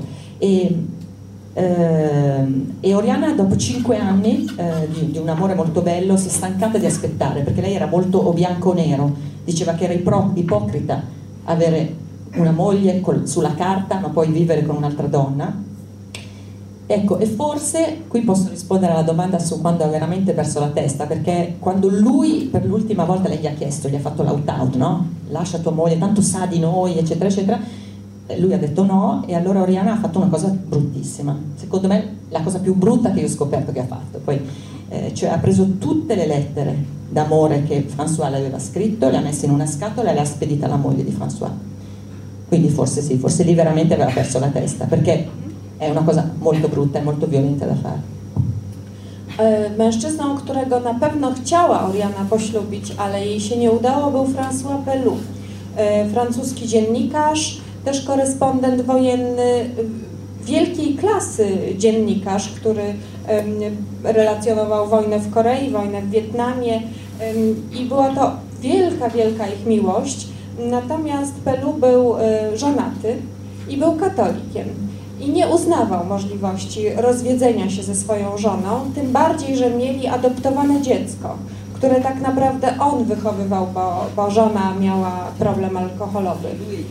e Oriana dopo 5 anni di un amore molto bello si è stancata di aspettare, perché lei era molto o bianco o nero, diceva che era ipocrita avere una moglie sulla carta ma poi vivere con un'altra donna. Ecco, e forse qui posso rispondere alla domanda su quando ha veramente perso la testa, perché quando lui per l'ultima volta lei gli ha chiesto, gli ha fatto l'out-out, no? Lascia tua moglie, tanto sa di noi, eccetera, eccetera. Lui ha detto no, e allora Oriana ha fatto una cosa bruttissima. Secondo me la cosa più brutta che io ho scoperto che ha fatto. Poi, cioè ha preso tutte le lettere d'amore che François le aveva scritto, le ha messe in una scatola e le ha spedite alla moglie di François. Quindi forse sì, forse lì veramente aveva perso la testa, perché è una cosa molto brutta e molto violenta da fare. Mężczyzną, którego na pewno chciała Oriana poślubić, ale jej się nie udało, był François Pelloux. Francuski dziennikarz, też korespondent wojenny, wielkiej klasy dziennikarz, który relacjonował wojnę w Korei, wojnę w Wietnamie, i była to wielka, wielka ich miłość. Natomiast Pelloux był żonaty i był katolikiem. I nie uznawał możliwości rozwiedzenia się ze swoją żoną, tym bardziej, że mieli adoptowane dziecko, które tak naprawdę on wychowywał, bo żona miała problem alkoholowy.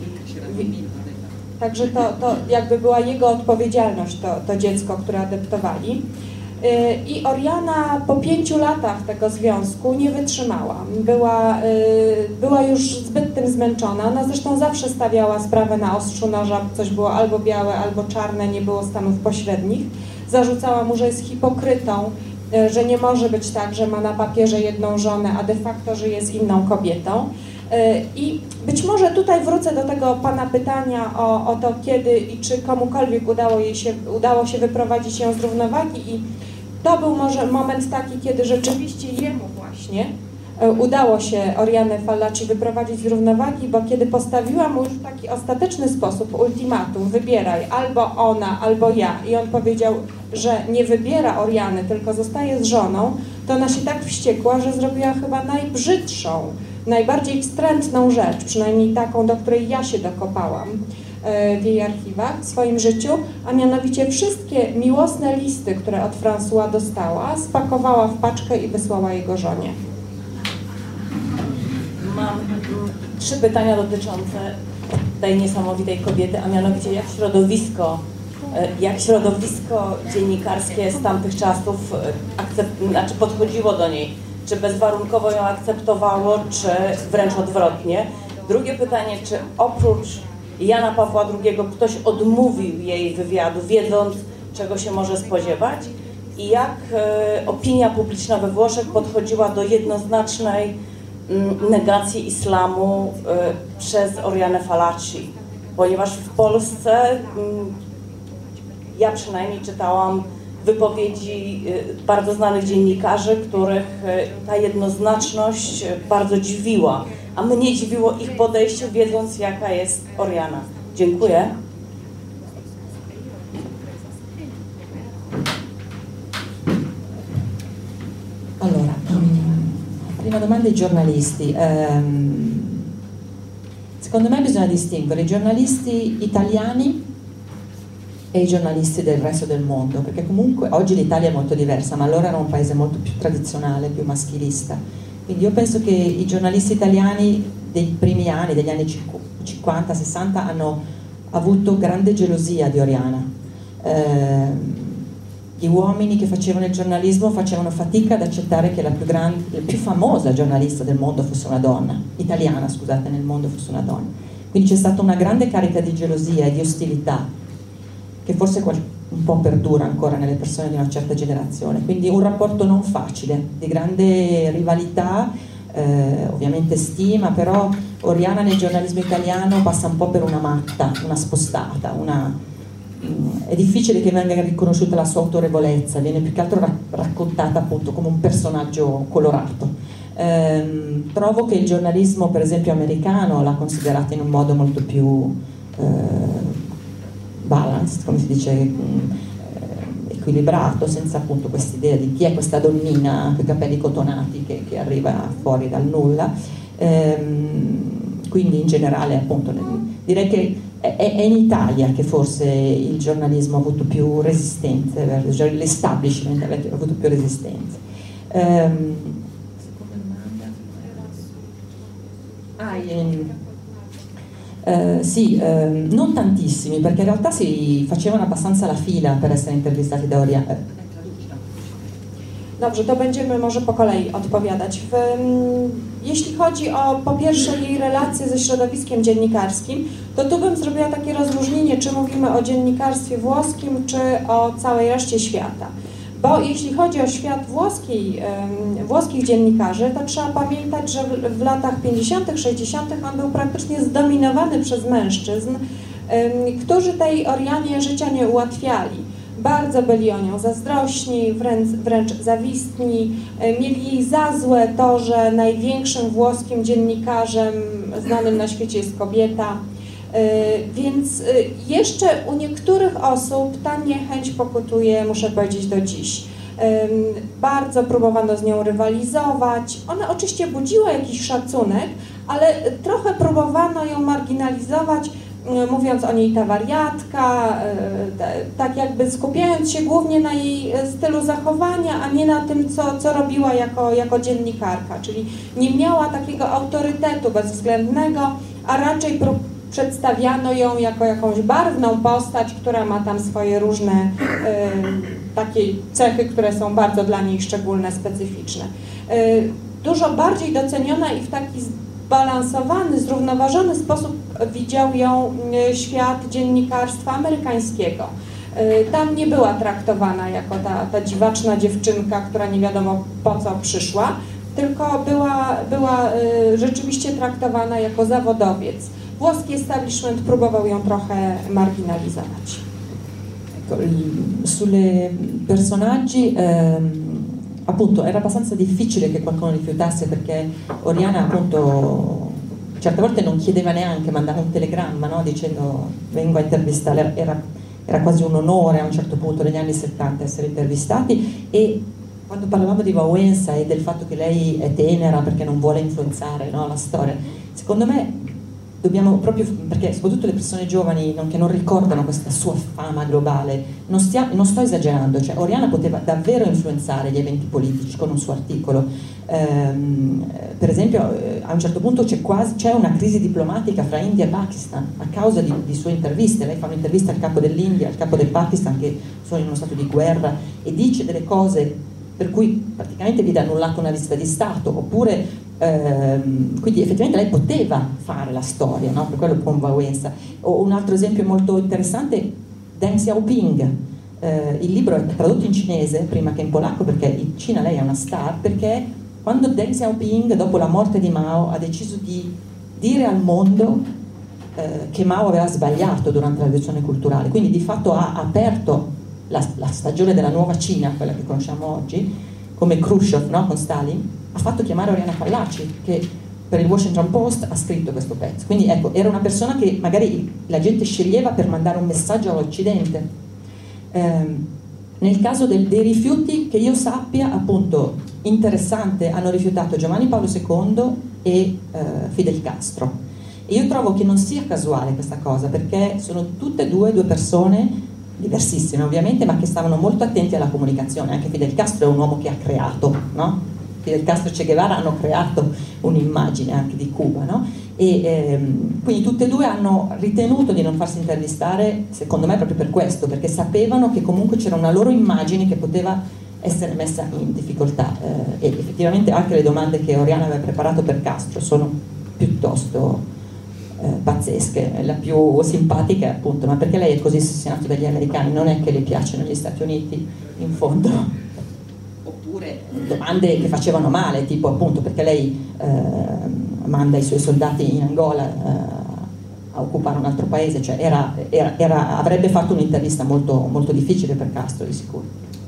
Także to jakby była jego odpowiedzialność, to dziecko, które adoptowali. I Oriana po 5 latach tego związku nie wytrzymała. Była już zbyt tym zmęczona. Ona zresztą zawsze stawiała sprawę na ostrzu noża, coś było albo białe, albo czarne, nie było stanów pośrednich. Zarzucała mu, że jest hipokrytą, że nie może być tak, że ma na papierze jedną żonę, a de facto żyje z inną kobietą. I być może tutaj wrócę do tego pana pytania o to, kiedy i czy komukolwiek udało się wyprowadzić ją z równowagi, i to był może moment taki, kiedy rzeczywiście jemu właśnie udało się Orianę Fallaci wyprowadzić z równowagi, bo kiedy postawiła mu już w taki ostateczny sposób ultimatum: wybieraj, albo ona, albo ja, i on powiedział, że nie wybiera Oriany, tylko zostaje z żoną, to ona się tak wściekła, że zrobiła chyba najbrzydszą, najbardziej wstrętną rzecz, przynajmniej taką, do której ja się dokopałam w jej archiwach w swoim życiu, a mianowicie wszystkie miłosne listy, które od François dostała, spakowała w paczkę i wysłała jego żonie. Mam 3 pytania dotyczące tej niesamowitej kobiety, a mianowicie jak środowisko Jak środowisko dziennikarskie z tamtych czasów podchodziło do niej? Czy bezwarunkowo ją akceptowało, czy wręcz odwrotnie? Drugie pytanie, czy oprócz Jana Pawła II ktoś odmówił jej wywiadu, wiedząc, czego się może spodziewać? I jak opinia publiczna we Włoszech podchodziła do jednoznacznej negacji islamu przez Orianę Fallaci? Ponieważ w Polsce ja przynajmniej czytałam wypowiedzi bardzo znanych dziennikarzy, których ta jednoznaczność bardzo dziwiła, a mnie dziwiło ich podejście, wiedząc, jaka jest Oriana. Dziękuję. Allora, prima domanda ai giornalisti. Secondo me bisogna distinguere i giornalisti italiani e i giornalisti del resto del mondo, perché comunque oggi l'Italia è molto diversa, ma allora era un paese molto più tradizionale, più maschilista. Quindi io penso che i giornalisti italiani dei primi anni, degli anni 50-60, hanno avuto grande gelosia di Oriana. Gli uomini che facevano il giornalismo facevano fatica ad accettare che la più famosa giornalista del mondo fosse una donna, italiana, scusate, nel mondo fosse una donna. Quindi c'è stata una grande carica di gelosia e di ostilità, che forse un po' perdura ancora nelle persone di una certa generazione. Quindi un rapporto non facile, di grande rivalità, ovviamente stima, però Oriana nel giornalismo italiano passa un po' per una matta, una spostata, è difficile che venga riconosciuta la sua autorevolezza, viene più che altro raccontata appunto come un personaggio colorato. Trovo che il giornalismo per esempio americano l'ha considerata in un modo molto più balanced, come si dice, equilibrato, senza appunto quest'idea di chi è questa donnina con i capelli cotonati che arriva fuori dal nulla. Quindi in generale appunto direi che è in Italia che forse il giornalismo ha avuto più resistenze, l'establishment ha avuto più resistenze. Sì, non tantissimi, perché in realtá si facevano abbastanza la fila per essere intervistati da Oriana. Dobrze, to będziemy może po kolei odpowiadać. Jeśli chodzi o po pierwsze jej relacje ze środowiskiem dziennikarskim, to tu bym zrobiła takie rozróżnienie, czy mówimy o dziennikarstwie włoskim, czy o całej reszcie świata. Bo jeśli chodzi o świat włoskich dziennikarzy, to trzeba pamiętać, że w latach 50., 60. on był praktycznie zdominowany przez mężczyzn, którzy tej Orianie życia nie ułatwiali. Bardzo byli o nią zazdrośni, wręcz zawistni, mieli jej za złe to, że największym włoskim dziennikarzem znanym na świecie jest kobieta. Więc jeszcze u niektórych osób ta niechęć pokutuje, muszę powiedzieć, do dziś. Bardzo próbowano z nią rywalizować. Ona oczywiście budziła jakiś szacunek, ale trochę próbowano ją marginalizować, mówiąc o niej ta wariatka, tak jakby skupiając się głównie na jej stylu zachowania, a nie na tym, co robiła jako dziennikarka. Czyli nie miała takiego autorytetu bezwzględnego, a raczej przedstawiano ją jako jakąś barwną postać, która ma tam swoje różne takie cechy, które są bardzo dla niej szczególne, specyficzne. Dużo bardziej doceniona i w taki zbalansowany, zrównoważony sposób widział ją świat dziennikarstwa amerykańskiego. Tam nie była traktowana jako ta dziwaczna dziewczynka, która nie wiadomo po co przyszła, tylko była rzeczywiście traktowana jako zawodowiec. Włoski establishment próbował ją trochę marginalizować. Sulle personaggi, appunto, era abbastanza difficile che qualcuno rifiutasse, perché Oriana appunto certe volte non chiedeva neanche, mandava un telegramma, no? Dicendo vengo a intervistare, era quasi un onore a un certo punto negli anni 70 essere intervistati. E quando parlavamo di Wałęsa e del fatto che lei è tenera perché non vuole influenzare, no, la storia, secondo me dobbiamo proprio, perché soprattutto le persone giovani che non ricordano questa sua fama globale, non sto esagerando, cioè Oriana poteva davvero influenzare gli eventi politici con un suo articolo. Per esempio a un certo punto c'è una crisi diplomatica fra India e Pakistan a causa di sue interviste. Lei fa un'intervista al capo dell'India, al capo del Pakistan, che sono in uno stato di guerra, e dice delle cose per cui praticamente viene annullata una visita di Stato, oppure quindi effettivamente lei poteva fare la storia, no? Per quello convalenza. O un altro esempio molto interessante, Deng Xiaoping. Il libro è tradotto in cinese prima che in polacco, perché in Cina lei è una star, perché quando Deng Xiaoping, dopo la morte di Mao, ha deciso di dire al mondo che Mao aveva sbagliato durante la rivoluzione culturale, quindi di fatto ha aperto la stagione della nuova Cina, quella che conosciamo oggi, come Khrushchev, no? Con Stalin, ha fatto chiamare Oriana Fallaci, che per il Washington Post ha scritto questo pezzo. Quindi ecco, era una persona che magari la gente sceglieva per mandare un messaggio all'Occidente. Nel caso dei rifiuti, che io sappia, appunto, interessante, hanno rifiutato Giovanni Paolo II e Fidel Castro. E io trovo che non sia casuale questa cosa, perché sono tutte e due persone diversissime ovviamente, ma che stavano molto attenti alla comunicazione. Anche Fidel Castro è un uomo che ha creato, no? Fidel Castro e Che Guevara hanno creato un'immagine anche di Cuba, no? E quindi tutte e due hanno ritenuto di non farsi intervistare, secondo me proprio per questo, perché sapevano che comunque c'era una loro immagine che poteva essere messa in difficoltà, e effettivamente anche le domande che Oriana aveva preparato per Castro sono piuttosto pazzesche. La più simpatica è appunto: ma perché lei è così ossessionato dagli americani? Non è che le piacciono gli Stati Uniti, in fondo? Oppure domande che facevano male, tipo appunto perché lei manda i suoi soldati in Angola a occupare un altro paese, cioè avrebbe fatto un'intervista molto, molto difficile per Castro, di sicuro.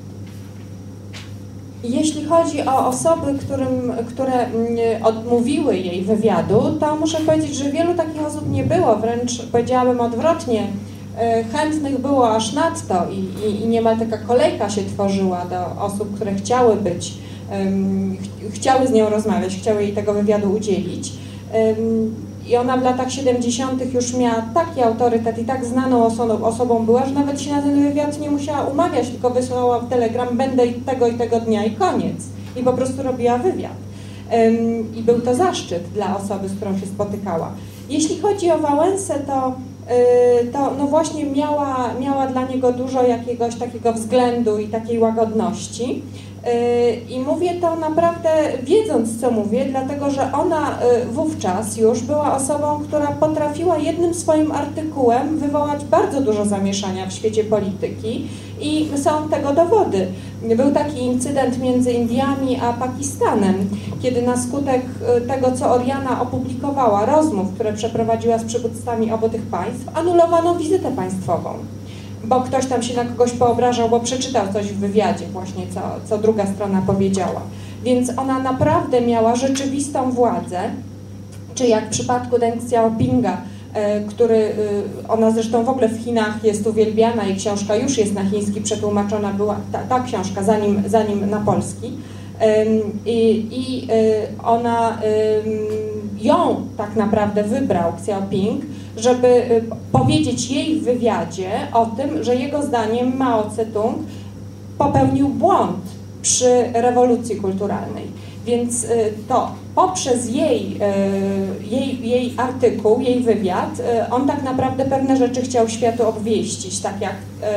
Jeśli chodzi o osoby, które odmówiły jej wywiadu, to muszę powiedzieć, że wielu takich osób nie było, wręcz powiedziałabym odwrotnie. Chętnych było aż nadto i niemal taka kolejka się tworzyła do osób, które chciały chciały z nią rozmawiać, chciały jej tego wywiadu udzielić. I ona w latach 70. już miała taki autorytet i tak znaną osobą była, że nawet się na ten wywiad nie musiała umawiać, tylko wysłała telegram: będę i tego dnia, i koniec. I po prostu robiła wywiad. I był to zaszczyt dla osoby, z którą się spotykała. Jeśli chodzi o Wałęsę, to no właśnie miała dla niego dużo jakiegoś takiego względu i takiej łagodności. I mówię to naprawdę wiedząc, co mówię, dlatego że ona wówczas już była osobą, która potrafiła jednym swoim artykułem wywołać bardzo dużo zamieszania w świecie polityki i są tego dowody. Był taki incydent między Indiami a Pakistanem, kiedy na skutek tego, co Oriana opublikowała, rozmów, które przeprowadziła z przywódcami obu tych państw, anulowano wizytę państwową. Bo ktoś tam się na kogoś poobrażał, bo przeczytał coś w wywiadzie właśnie, co druga strona powiedziała. Więc ona naprawdę miała rzeczywistą władzę, czy jak w przypadku Deng Xiaopinga, ona zresztą w ogóle w Chinach jest uwielbiana i książka już jest na chiński przetłumaczona, była ta książka zanim na polski. Ona ją tak naprawdę wybrał Xiaoping, żeby powiedzieć jej w wywiadzie o tym, że jego zdaniem Mao Tse-tung popełnił błąd przy rewolucji kulturalnej. Więc to poprzez jej artykuł, jej wywiad, on tak naprawdę pewne rzeczy chciał światu obwieścić, tak jak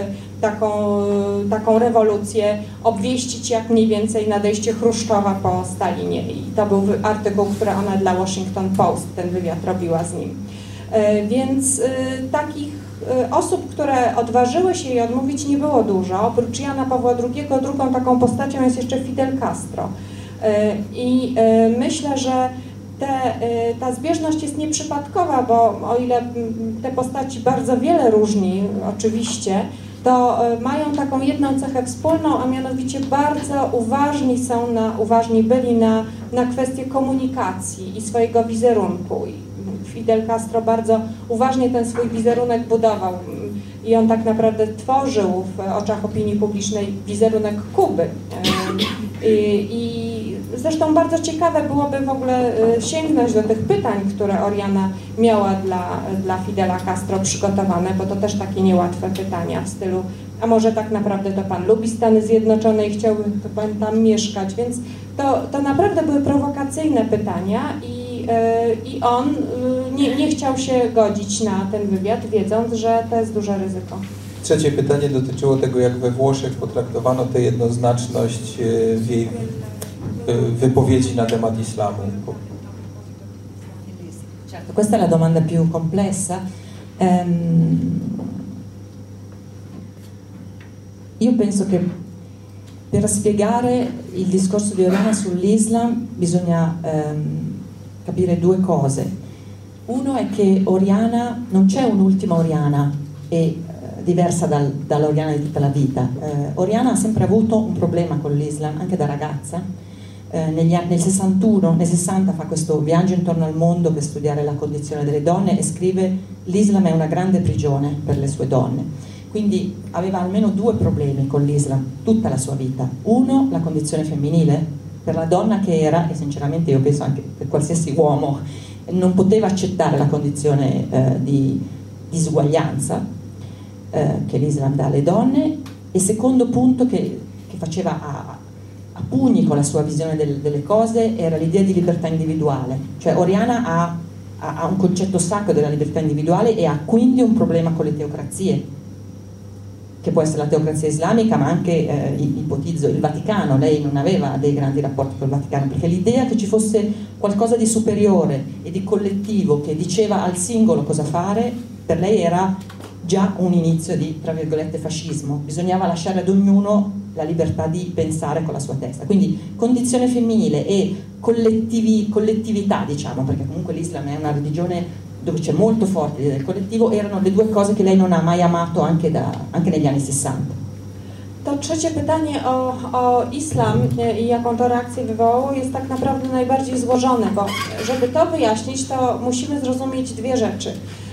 taką rewolucję, obwieścić jak mniej więcej nadejście Chruszczowa po Stalinie. I to był artykuł, który ona dla Washington Post, ten wywiad robiła z nim. Więc takich osób, które odważyły się jej odmówić, nie było dużo. Oprócz Jana Pawła II, drugą taką postacią jest jeszcze Fidel Castro. I myślę, że ta zbieżność jest nieprzypadkowa, bo o ile te postaci bardzo wiele różni oczywiście, to mają taką jedną cechę wspólną, a mianowicie bardzo uważni byli na kwestię komunikacji i swojego wizerunku. Fidel Castro bardzo uważnie ten swój wizerunek budował i on tak naprawdę tworzył w oczach opinii publicznej wizerunek Kuby. I Zresztą bardzo ciekawe byłoby w ogóle sięgnąć do tych pytań, które Oriana miała dla Fidela Castro przygotowane, bo to też takie niełatwe pytania w stylu: a może tak naprawdę to pan lubi Stany Zjednoczone i chciałby to pan tam mieszkać, więc to naprawdę były prowokacyjne pytania i on nie chciał się godzić na ten wywiad, wiedząc, że to jest duże ryzyko. Trzecie pytanie dotyczyło tego, jak we Włoszech potraktowano tę jednoznaczność w jej wypowiedzi na temat islamu. Certo, questa è la domanda più complessa. Io penso che per spiegare il discorso di Oriana sull'Islam bisogna capire due cose. Uno è che Oriana, non c'è un'ultima Oriana diversa dall'Oriana di tutta la vita. Oriana ha sempre avuto un problema con l'Islam, anche da ragazza. Nel 60 fa questo viaggio intorno al mondo per studiare la condizione delle donne e scrive: l'Islam è una grande prigione per le sue donne. Quindi aveva almeno due problemi con l'Islam tutta la sua vita. Uno, la condizione femminile, per la donna che era, e sinceramente io penso anche per qualsiasi uomo, non poteva accettare la condizione di disuguaglianza che l'Islam dà alle donne. E secondo punto che faceva a pugni con la sua visione delle cose era l'idea di libertà individuale. Cioè Oriana ha un concetto sacro della libertà individuale e ha quindi un problema con le teocrazie, che può essere la teocrazia islamica, ma anche, ipotizzo, il Vaticano. Lei non aveva dei grandi rapporti col Vaticano, perché l'idea che ci fosse qualcosa di superiore e di collettivo che diceva al singolo cosa fare, per lei era già un inizio di, tra virgolette, fascismo. Bisognava lasciare ad ognuno la libertà di pensare con la sua testa. Quindi condizione femminile e collettività, diciamo, perché comunque l'Islam è una religione dove c'è molto forte l'idea del collettivo, erano le due cose che lei non ha mai amato anche negli anni 60. To trzecie pytanie o islam i jaką to reakcję wywołało jest tak naprawdę najbardziej złożone, bo żeby to wyjaśnić, to musimy zrozumieć dwie rzeczy.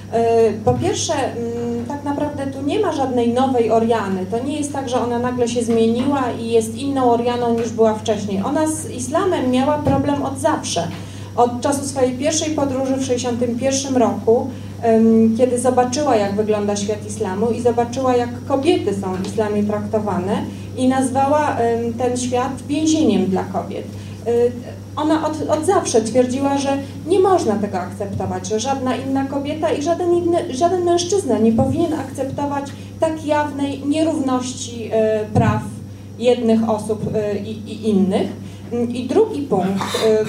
Po pierwsze, tak naprawdę tu nie ma żadnej nowej Oriany. To nie jest tak, że ona nagle się zmieniła i jest inną Orianą niż była wcześniej. Ona z islamem miała problem od zawsze. Od czasu swojej pierwszej podróży w 1961 roku, kiedy zobaczyła, jak wygląda świat islamu i zobaczyła, jak kobiety są w islamie traktowane i nazwała ten świat więzieniem dla kobiet. Ona od zawsze twierdziła, że nie można tego akceptować, że żadna inna kobieta i żaden mężczyzna nie powinien akceptować tak jawnej nierówności praw jednych osób i innych. I drugi punkt,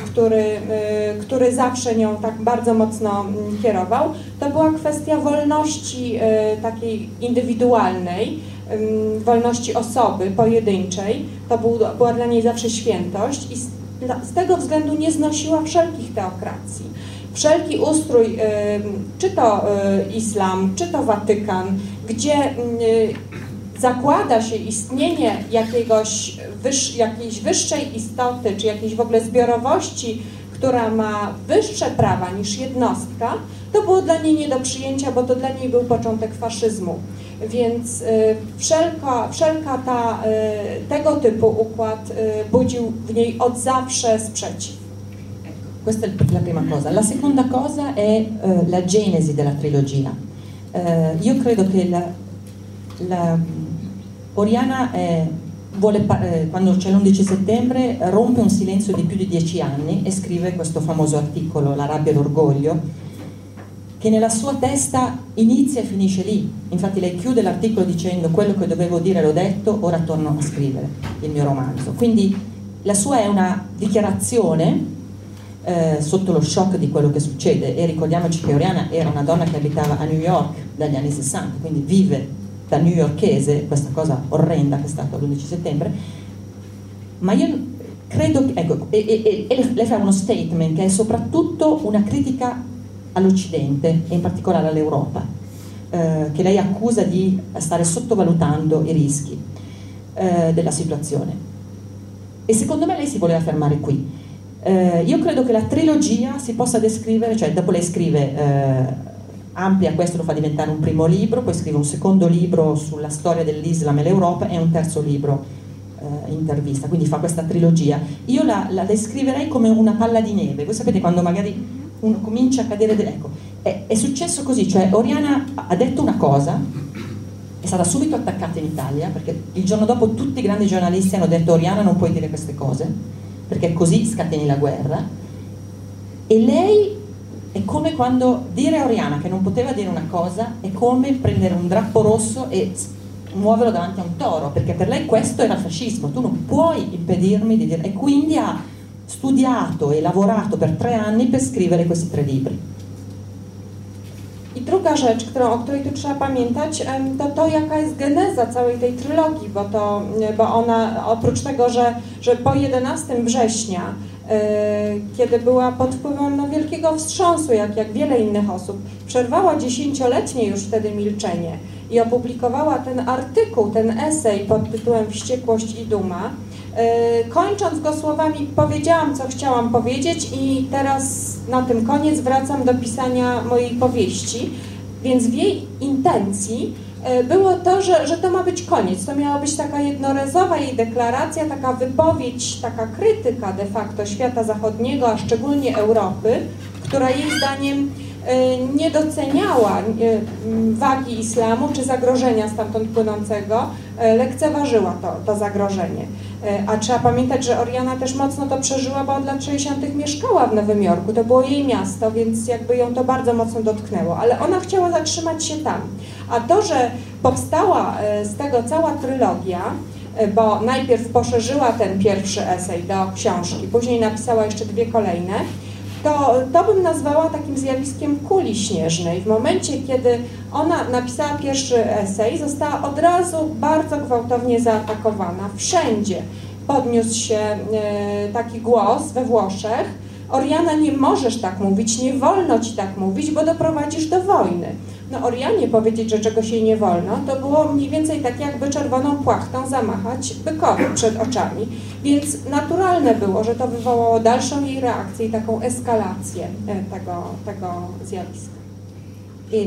który zawsze nią tak bardzo mocno kierował, to była kwestia wolności takiej indywidualnej, wolności osoby pojedynczej. To była dla niej zawsze świętość i z tego względu nie znosiła wszelkich teokracji. Wszelki ustrój, czy to islam, czy to Watykan, gdzie zakłada się istnienie jakiejś wyższej istoty, czy jakiejś w ogóle zbiorowości, która ma wyższe prawa niż jednostka, to było dla niej nie do przyjęcia, bo to dla niej był początek faszyzmu. Więc wszelka tego typu układ budził w niej od zawsze sprzeciw. Questa è la prima cosa. La seconda cosa è la genesi della trilogia. Io credo che Oriana quando c'è l'11 settembre rompe un silenzio di più di 10 anni e scrive questo famoso articolo, La rabbia e l'orgoglio, che nella sua testa inizia e finisce lì. Infatti lei chiude l'articolo dicendo: quello che dovevo dire l'ho detto, ora torno a scrivere il mio romanzo. Quindi la sua è una dichiarazione sotto lo shock di quello che succede, e ricordiamoci che Oriana era una donna che abitava a New York dagli anni 60, quindi vive da newyorkese questa cosa orrenda che è stata l'11 settembre, ma io credo, ecco, e lei fa uno statement che è soprattutto una critica all'Occidente e in particolare all'Europa, che lei accusa di stare sottovalutando i rischi della situazione, e secondo me lei si voleva fermare qui. Io credo che la trilogia si possa descrivere, cioè dopo lei scrive, amplia questo, lo fa diventare un primo libro, poi scrive un secondo libro sulla storia dell'Islam e l'Europa e un terzo libro intervista, quindi fa questa trilogia. Io la descriverei come una palla di neve. Voi sapete quando magari uno comincia a cadere, ecco, è successo così, cioè Oriana ha detto una cosa, è stata subito attaccata in Italia, perché il giorno dopo tutti i grandi giornalisti hanno detto Oriana non puoi dire queste cose, perché così scateni la guerra, e lei è come quando dire a Oriana che non poteva dire una cosa è come prendere un drappo rosso e muoverlo davanti a un toro, perché per lei questo era fascismo, tu non puoi impedirmi di dire, e quindi ha studiato e lavorato per 3 anni per scrivere questi 3 libri. I druga rzecz, o której tu trzeba pamiętać, to jaka jest geneza całej tej trylogii, bo ona oprócz tego, że po 11 września, kiedy była pod wpływem wielkiego wstrząsu, jak wiele innych osób, przerwała 10-letnie już wtedy milczenie i opublikowała ten artykuł, ten esej pod tytułem Wściekłość i duma, kończąc go słowami powiedziałam, co chciałam powiedzieć i teraz na tym koniec wracam do pisania mojej powieści, więc w jej intencji było to, że to ma być koniec, to miała być taka jednorazowa jej deklaracja, taka wypowiedź, taka krytyka de facto świata zachodniego, a szczególnie Europy, która jej zdaniem nie doceniała wagi islamu czy zagrożenia stamtąd płynącego, lekceważyła to zagrożenie. A trzeba pamiętać, że Oriana też mocno to przeżyła, bo od lat 60. mieszkała w Nowym Jorku, to było jej miasto, więc jakby ją to bardzo mocno dotknęło, ale ona chciała zatrzymać się tam. A to, że powstała z tego cała trylogia, bo najpierw poszerzyła ten pierwszy esej do książki, później napisała jeszcze 2 kolejne, to bym nazwała takim zjawiskiem kuli śnieżnej. W momencie, kiedy ona napisała pierwszy esej, została od razu bardzo gwałtownie zaatakowana. Wszędzie podniósł się taki głos we Włoszech: Oriana, nie możesz tak mówić, nie wolno ci tak mówić, bo doprowadzisz do wojny. No Orianie powiedzieć, że czegoś jej nie wolno, to było mniej więcej tak, jakby czerwoną płachtą zamachać bykowi przed oczami. Więc naturalne było, że to wywołało dalszą jej reakcję i taką eskalację tego zjawiska. E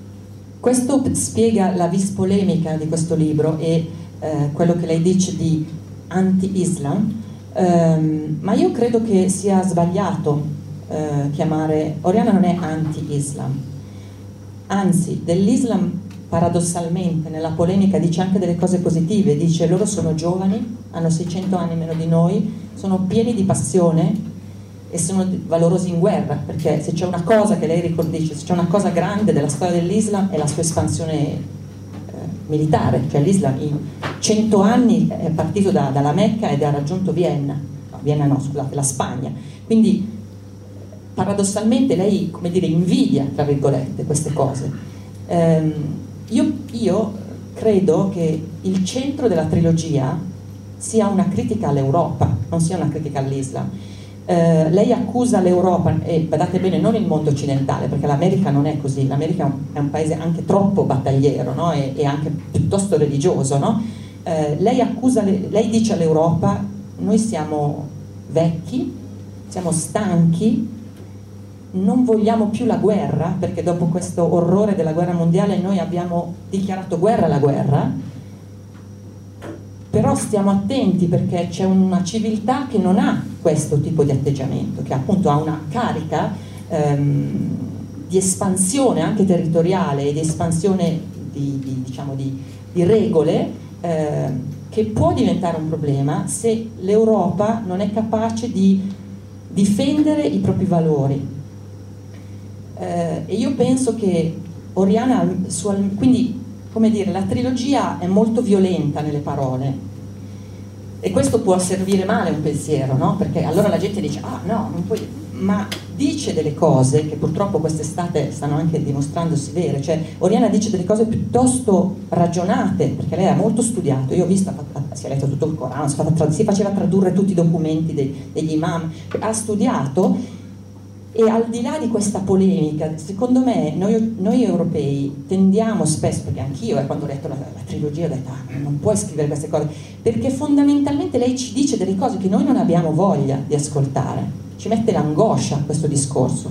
questo spiega la vis polemica di questo libro e quello che lei dice di anti-Islam, ma io credo che sia sbagliato chiamare Oriana non è anti-Islam. Anzi, dell'Islam paradossalmente nella polemica dice anche delle cose positive, dice loro sono giovani, hanno 600 anni meno di noi, sono pieni di passione e sono valorosi in guerra, perché se c'è una cosa che lei dice, se c'è una cosa grande della storia dell'Islam è la sua espansione militare, cioè l'Islam in 100 anni è partito dalla Mecca ed ha raggiunto la Spagna, quindi paradossalmente lei, come dire, invidia, tra virgolette, queste cose. Io credo che il centro della trilogia sia una critica all'Europa, non sia una critica all'Islam. Lei accusa l'Europa, e badate bene, non il mondo occidentale, perché l'America non è così, l'America è un paese anche troppo battagliero, no? e anche piuttosto religioso, no? Lei dice all'Europa: noi siamo vecchi, siamo stanchi, non vogliamo più la guerra, perché dopo questo orrore della guerra mondiale noi abbiamo dichiarato guerra alla guerra, però stiamo attenti perché c'è una civiltà che non ha questo tipo di atteggiamento, che appunto ha una carica di espansione anche territoriale e di espansione di regole che può diventare un problema se l'Europa non è capace di difendere i propri valori. E io penso che Oriana, quindi, come dire, la trilogia è molto violenta nelle parole e questo può servire male un pensiero, no? Perché allora la gente dice: ah no, non puoi, ma dice delle cose che purtroppo quest'estate stanno anche dimostrandosi vere, cioè Oriana dice delle cose piuttosto ragionate, perché lei ha molto studiato, io ho visto, si è letto tutto il Corano, si faceva tradurre tutti i documenti degli imam, ha studiato. E al di là di questa polemica, secondo me noi europei tendiamo spesso, perché anch'io quando ho letto la trilogia ho detto: ah, non puoi scrivere queste cose, perché fondamentalmente lei ci dice delle cose che noi non abbiamo voglia di ascoltare, ci mette l'angoscia questo discorso.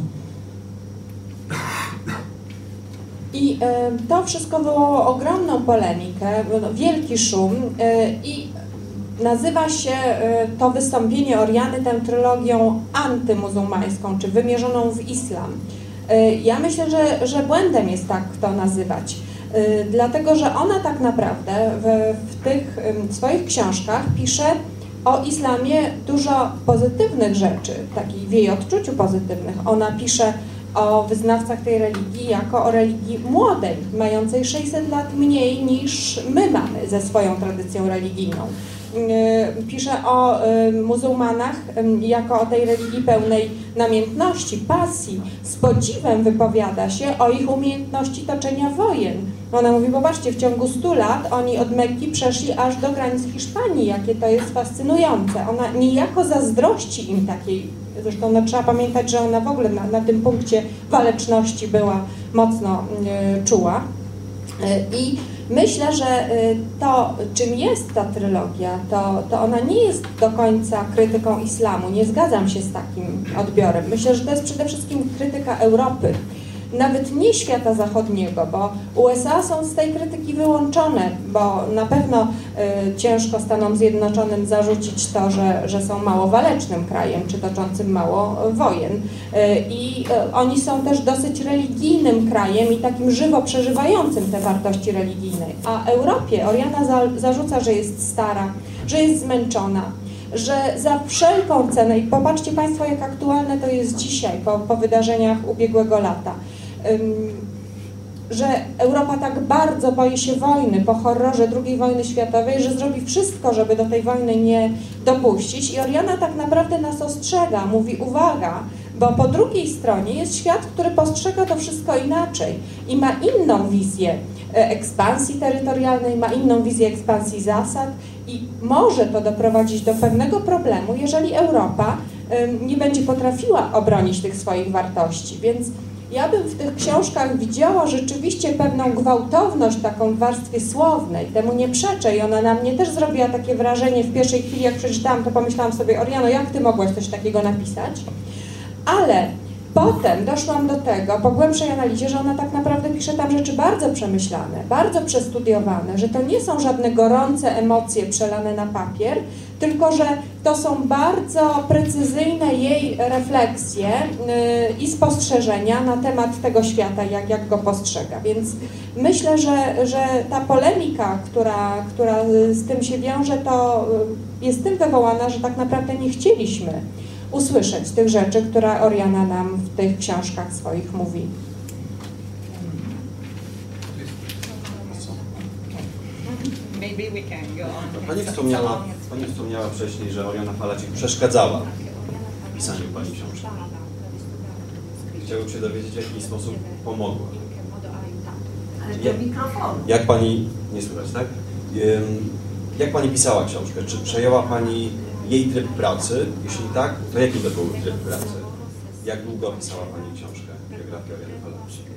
I to wszystko wywołało ogromną polemikę, wielki szum i nazywa się to wystąpienie Oriany tę trylogią antymuzułmańską, czy wymierzoną w islam. Ja myślę, że błędem jest tak to nazywać, dlatego że ona tak naprawdę w tych swoich książkach pisze o islamie dużo pozytywnych rzeczy, takich w jej odczuciu pozytywnych. Ona pisze o wyznawcach tej religii jako o religii młodej, mającej 600 lat mniej niż my mamy ze swoją tradycją religijną. Pisze o muzułmanach jako o tej religii pełnej namiętności, pasji. Z podziwem wypowiada się o ich umiejętności toczenia wojen. Ona mówi, popatrzcie, w ciągu 100 lat oni od Mekki przeszli aż do granic Hiszpanii, jakie to jest fascynujące. Ona niejako zazdrości im takiej, zresztą no, trzeba pamiętać, że ona w ogóle na tym punkcie waleczności była mocno czuła. I myślę, że to, czym jest ta trylogia, to ona nie jest do końca krytyką islamu. Nie zgadzam się z takim odbiorem. Myślę, że to jest przede wszystkim krytyka Europy. Nawet nie świata zachodniego, bo USA są z tej krytyki wyłączone, bo na pewno ciężko Stanom Zjednoczonym zarzucić to, że są mało walecznym krajem, czy toczącym mało wojen. I oni są też dosyć religijnym krajem i takim żywo przeżywającym te wartości religijne. A Europie Oriana zarzuca, że jest stara, że jest zmęczona, że za wszelką cenę, i popatrzcie Państwo, jak aktualne to jest dzisiaj, po wydarzeniach ubiegłego lata, że Europa tak bardzo boi się wojny po horrorze II wojny światowej, że zrobi wszystko, żeby do tej wojny nie dopuścić. I Oriana tak naprawdę nas ostrzega, mówi uwaga, bo po drugiej stronie jest świat, który postrzega to wszystko inaczej i ma inną wizję ekspansji terytorialnej, ma inną wizję ekspansji zasad i może to doprowadzić do pewnego problemu, jeżeli Europa nie będzie potrafiła obronić tych swoich wartości. Więc ja bym w tych książkach widziała rzeczywiście pewną gwałtowność taką w warstwie słownej, temu nie przeczę i ona na mnie też zrobiła takie wrażenie w pierwszej chwili, jak przeczytałam, to pomyślałam sobie, Oriano, jak ty mogłaś coś takiego napisać? Ale potem doszłam do tego, po głębszej analizie, że ona tak naprawdę pisze tam rzeczy bardzo przemyślane, bardzo przestudiowane, że to nie są żadne gorące emocje przelane na papier, tylko że to są bardzo precyzyjne jej refleksje i spostrzeżenia na temat tego świata, jak go postrzega. Więc myślę, że ta polemika, która z tym się wiąże, to jest tym wywołana, że tak naprawdę nie chcieliśmy usłyszeć tych rzeczy, które Oriana nam w tych książkach swoich mówi. Pani wspomniała wcześniej, że Oriana Falacik przeszkadzała w pisaniu Pani książki. Chciałbym się dowiedzieć, w jaki sposób pomogła. Jak Pani, nie słychać, tak? Jak Pani pisała książkę? Czy przejęła Pani jej tryb pracy? Jeśli tak, to jaki to był tryb pracy? Jak długo pisała Pani książkę, biografię Oriany Falacik?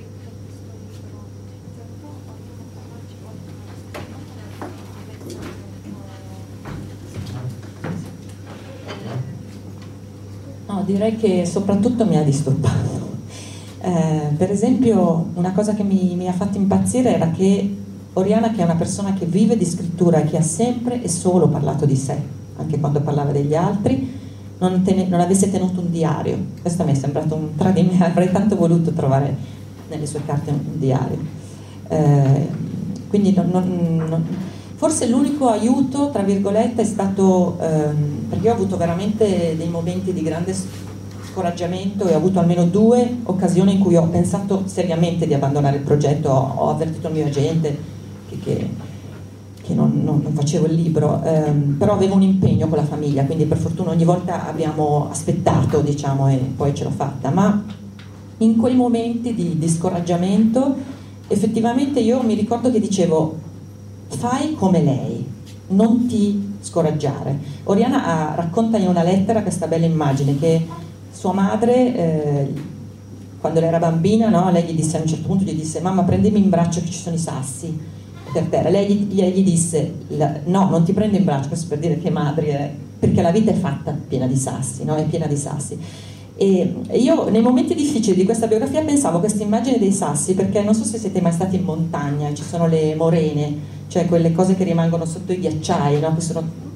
No, direi che soprattutto mi ha disturbato. Per esempio, una cosa che mi ha fatto impazzire era che Oriana, che è una persona che vive di scrittura e che ha sempre e solo parlato di sé, anche quando parlava degli altri, non avesse tenuto un diario. Questo mi è sembrato un tradimento, avrei tanto voluto trovare nelle sue carte un diario. Quindi forse l'unico aiuto, tra virgolette, è stato, perché io ho avuto veramente dei momenti di grande scoraggiamento e ho avuto almeno 2 occasioni in cui ho pensato seriamente di abbandonare il progetto, ho avvertito il mio agente che non facevo il libro, però avevo un impegno con la famiglia, quindi per fortuna ogni volta abbiamo aspettato, diciamo, e poi ce l'ho fatta. Ma in quei momenti di scoraggiamento effettivamente io mi ricordo che dicevo: fai come lei, non ti scoraggiare. Oriana racconta in una lettera questa bella immagine che sua madre, quando lei era bambina, no, lei gli disse, a un certo punto gli disse: mamma, prendimi in braccio che ci sono i sassi per terra. Lei gli disse: no, non ti prendo in braccio, questo per dire che madre, perché la vita è fatta piena di sassi, no? È piena di sassi. E io nei momenti difficili di questa biografia pensavo a questa immagine dei sassi, perché non so se siete mai stati in montagna, ci sono le morene, cioè quelle cose che rimangono sotto i ghiacciai, no? Che sono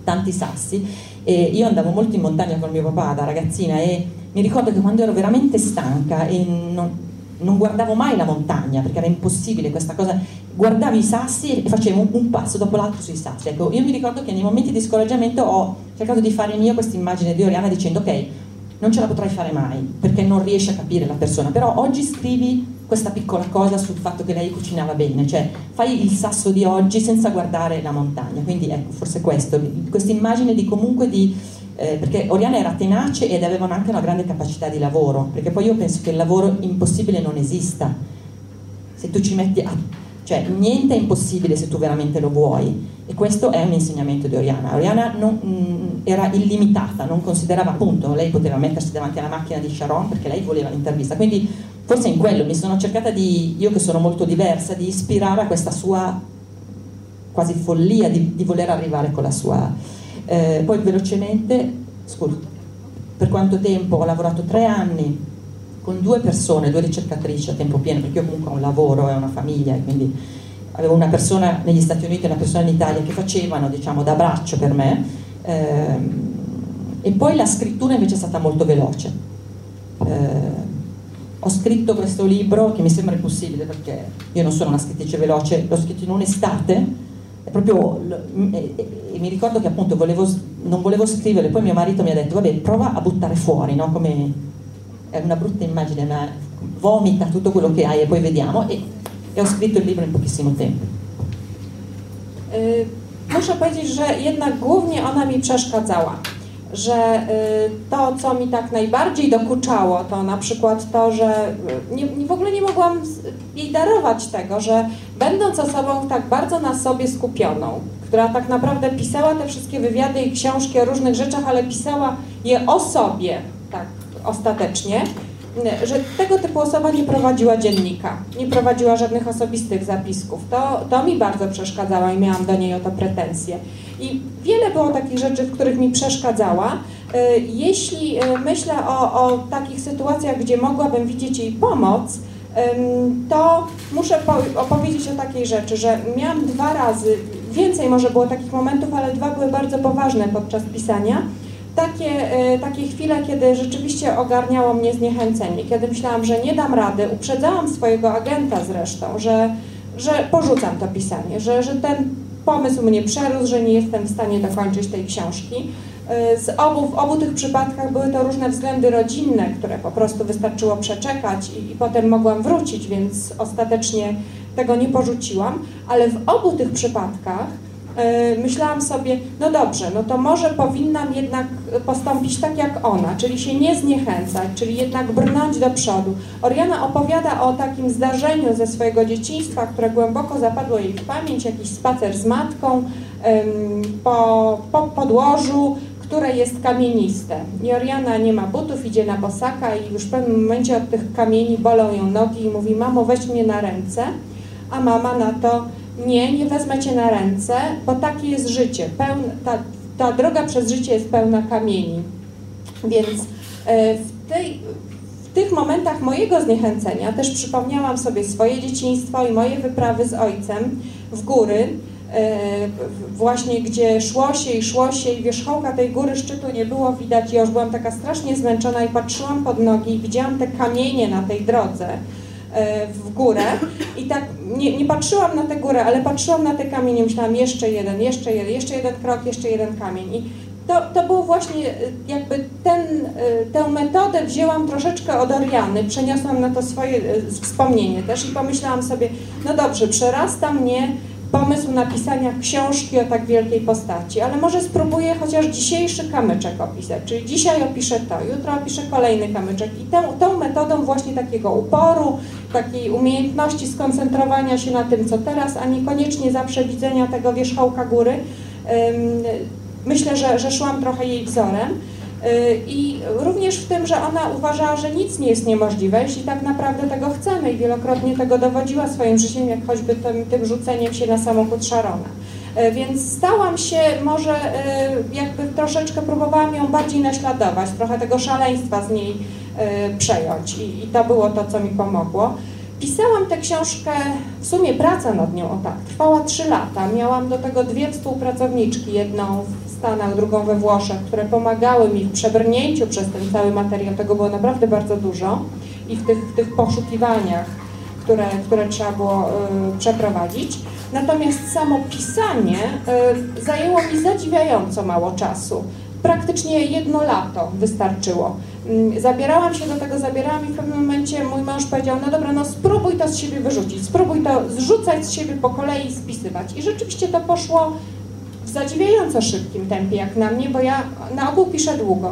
tanti sassi, e io andavo molto in montagna con mio papà da ragazzina e mi ricordo che quando ero veramente stanca e non guardavo mai la montagna perché era impossibile questa cosa, guardavo i sassi e facevo un passo dopo l'altro sui sassi. Ecco, io mi ricordo che nei momenti di scoraggiamento ho cercato di fare mio questa immagine di Oriana dicendo ok, non ce la potrai fare mai perché non riesci a capire la persona, però oggi scrivi questa piccola cosa sul fatto che lei cucinava bene, cioè fai il sasso di oggi senza guardare la montagna. Quindi ecco, forse questa immagine di comunque perché Oriana era tenace ed avevano anche una grande capacità di lavoro, perché poi io penso che il lavoro impossibile non esista, se tu ci metti cioè niente è impossibile se tu veramente lo vuoi, e questo è un insegnamento di Oriana. Oriana era illimitata, non considerava, appunto, lei poteva mettersi davanti alla macchina di Sharon perché lei voleva l'intervista, quindi forse in quello mi sono cercata io che sono molto diversa, di ispirare a questa sua quasi follia di voler arrivare con la sua. Poi velocemente, scusa, per quanto tempo? Ho lavorato 3 anni con 2 persone, 2 ricercatrici a tempo pieno, perché io comunque ho un lavoro e una famiglia, e quindi avevo una persona negli Stati Uniti e una persona in Italia che facevano, diciamo, da braccio per me, e poi la scrittura invece è stata molto veloce. Ho scritto questo libro che mi sembra impossibile perché io non sono una scrittrice veloce, l'ho scritto in un'estate. Proprio, e mi ricordo che appunto non volevo scrivere, poi mio marito mi ha detto vabbè, prova a buttare fuori, no? Come è una brutta immagine, ma vomita tutto quello che hai e poi vediamo, e ho scritto il libro in pochissimo tempo. Muszę powiedzieć, że jednak głównie ona mi przeszkadzała, że to, co mi tak najbardziej dokuczało, to na przykład to, że w ogóle nie mogłam jej darować tego, że będąc osobą tak bardzo na sobie skupioną, która tak naprawdę pisała te wszystkie wywiady i książki o różnych rzeczach, ale pisała je o sobie, tak ostatecznie, że tego typu osoba nie prowadziła dziennika, nie prowadziła żadnych osobistych zapisków. To mi bardzo przeszkadzało i miałam do niej o to pretensje. I wiele było takich rzeczy, w których mi przeszkadzała. Jeśli myślę o takich sytuacjach, gdzie mogłabym widzieć jej pomoc, to muszę opowiedzieć o takiej rzeczy, że miałam 2 razy, więcej może było takich momentów, ale 2 były bardzo poważne podczas pisania. Takie chwile, kiedy rzeczywiście ogarniało mnie zniechęcenie, kiedy myślałam, że nie dam rady, uprzedzałam swojego agenta zresztą, że porzucam to pisanie, że ten pomysł mnie przerósł, że nie jestem w stanie dokończyć tej książki. W obu tych przypadkach były to różne względy rodzinne, które po prostu wystarczyło przeczekać i potem mogłam wrócić, więc ostatecznie tego nie porzuciłam, ale w obu tych przypadkach myślałam sobie, no dobrze, no to może powinnam jednak postąpić tak jak ona, czyli się nie zniechęcać, czyli jednak brnąć do przodu. Oriana opowiada o takim zdarzeniu ze swojego dzieciństwa, które głęboko zapadło jej w pamięć, jakiś spacer z matką po podłożu, które jest kamieniste. I Oriana nie ma butów, idzie na bosaka i już w pewnym momencie od tych kamieni bolą ją nogi i mówi, mamo, weź mnie na ręce, a mama na to, nie wezmę cię na ręce, bo takie jest życie. Ta droga przez życie jest pełna kamieni. Więc w tych momentach mojego zniechęcenia też przypomniałam sobie swoje dzieciństwo i moje wyprawy z ojcem w góry, właśnie gdzie szło się i wierzchołka tej góry, szczytu nie było widać. Ja już byłam taka strasznie zmęczona i patrzyłam pod nogi i widziałam te kamienie na tej drodze w górę i tak nie patrzyłam na tę górę, ale patrzyłam na te kamienie, myślałam jeszcze jeden krok, jeszcze jeden kamień. I to było właśnie jakby tę metodę wzięłam troszeczkę od Oriany, przeniosłam na to swoje wspomnienie też i pomyślałam sobie, no dobrze, przerasta mnie pomysł napisania książki o tak wielkiej postaci, ale może spróbuję chociaż dzisiejszy kamyczek opisać, czyli dzisiaj opiszę to, jutro opiszę kolejny kamyczek i tą metodą właśnie takiego uporu, takiej umiejętności skoncentrowania się na tym, co teraz, a niekoniecznie zawsze widzenia tego wierzchołka góry, myślę, że szłam trochę jej wzorem. I również w tym, że ona uważała, że nic nie jest niemożliwe, jeśli tak naprawdę tego chcemy i wielokrotnie tego dowodziła swoim życiem, jak choćby tym rzuceniem się na samochód Sharona. Więc stałam się, może jakby troszeczkę próbowałam ją bardziej naśladować, trochę tego szaleństwa z niej przejąć i to było to, co mi pomogło. Pisałam tę książkę, w sumie praca nad nią, trwała 3 lata. Miałam do tego 2 współpracowniczki, jedną w Stanach, drugą we Włoszech, które pomagały mi w przebrnięciu przez ten cały materiał. Tego było naprawdę bardzo dużo i w tych poszukiwaniach, które trzeba było przeprowadzić. Natomiast samo pisanie zajęło mi zadziwiająco mało czasu. Praktycznie 1 lato wystarczyło. Zabierałam się do tego, i w pewnym momencie mój mąż powiedział, no dobra, no spróbuj to z siebie wyrzucić, spróbuj to zrzucać z siebie po kolei i spisywać. I rzeczywiście to poszło w zadziwiająco szybkim tempie jak na mnie, bo ja na ogół piszę długo,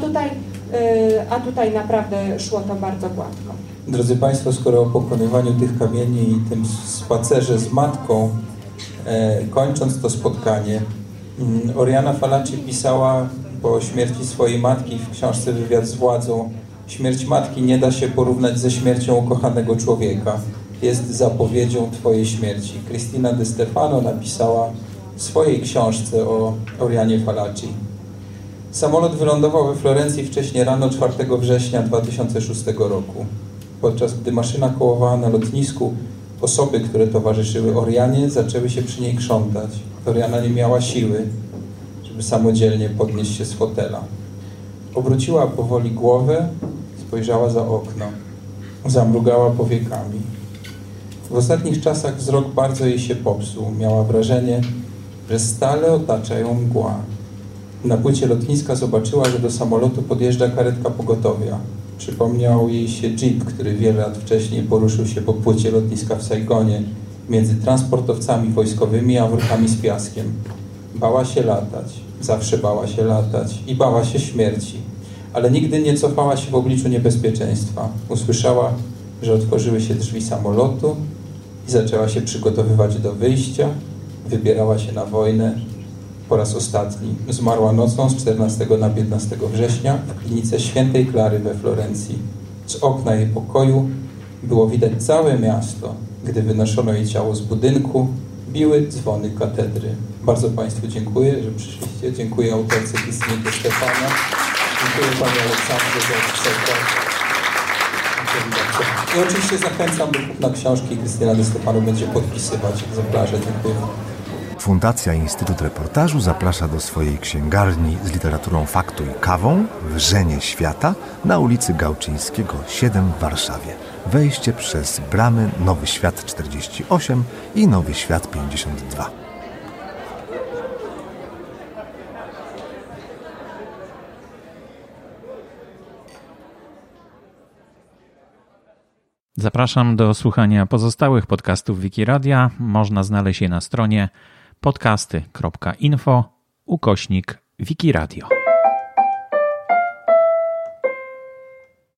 a tutaj naprawdę szło to bardzo gładko. Drodzy Państwo, skoro o pokonywaniu tych kamieni i tym spacerze z matką, kończąc to spotkanie, Oriana Fallaci pisała po śmierci swojej matki w książce Wywiad z władzą: śmierć matki nie da się porównać ze śmiercią ukochanego człowieka. Jest zapowiedzią Twojej śmierci. Cristina De Stefano napisała w swojej książce o Orianie Fallaci. Samolot wylądował we Florencji wcześnie rano 4 września 2006 roku. Podczas gdy maszyna kołowała na lotnisku, osoby, które towarzyszyły Orianie, zaczęły się przy niej krzątać. Oriana nie miała siły, żeby samodzielnie podnieść się z fotela. Obróciła powoli głowę, spojrzała za okno. Zamrugała powiekami. W ostatnich czasach wzrok bardzo jej się popsuł. Miała wrażenie, że stale otacza ją mgła. Na płycie lotniska zobaczyła, że do samolotu podjeżdża karetka pogotowia. Przypomniał jej się jeep, który wiele lat wcześniej poruszył się po płycie lotniska w Saigonie między transportowcami wojskowymi a workami z piaskiem. Bała się latać, zawsze bała się latać i bała się śmierci, ale nigdy nie cofała się w obliczu niebezpieczeństwa. Usłyszała, że otworzyły się drzwi samolotu i zaczęła się przygotowywać do wyjścia. Wybierała się na wojnę. Po raz ostatni zmarła nocą z 14 na 15 września w klinice Świętej Klary we Florencji. Z okna jej pokoju było widać całe miasto. Gdy wynoszono jej ciało z budynku, biły dzwony katedry. Bardzo Państwu dziękuję, że przyszliście. Dziękuję autorce Cristinie De Stefano. Dziękuję Pani Aleksandrze za przekład. I oczywiście zachęcam do kupna książki. Cristina De Stefano będzie podpisywać egzemplarze. Dziękuję. Fundacja Instytut Reportażu zaprasza do swojej księgarni z literaturą faktu i kawą Wrzenie Świata na ulicy Gałczyńskiego 7 w Warszawie. Wejście przez bramy Nowy Świat 48 i Nowy Świat 52. Zapraszam do słuchania pozostałych podcastów Wikiradia. Można znaleźć je na stronie podcasty.info/Wikiradio.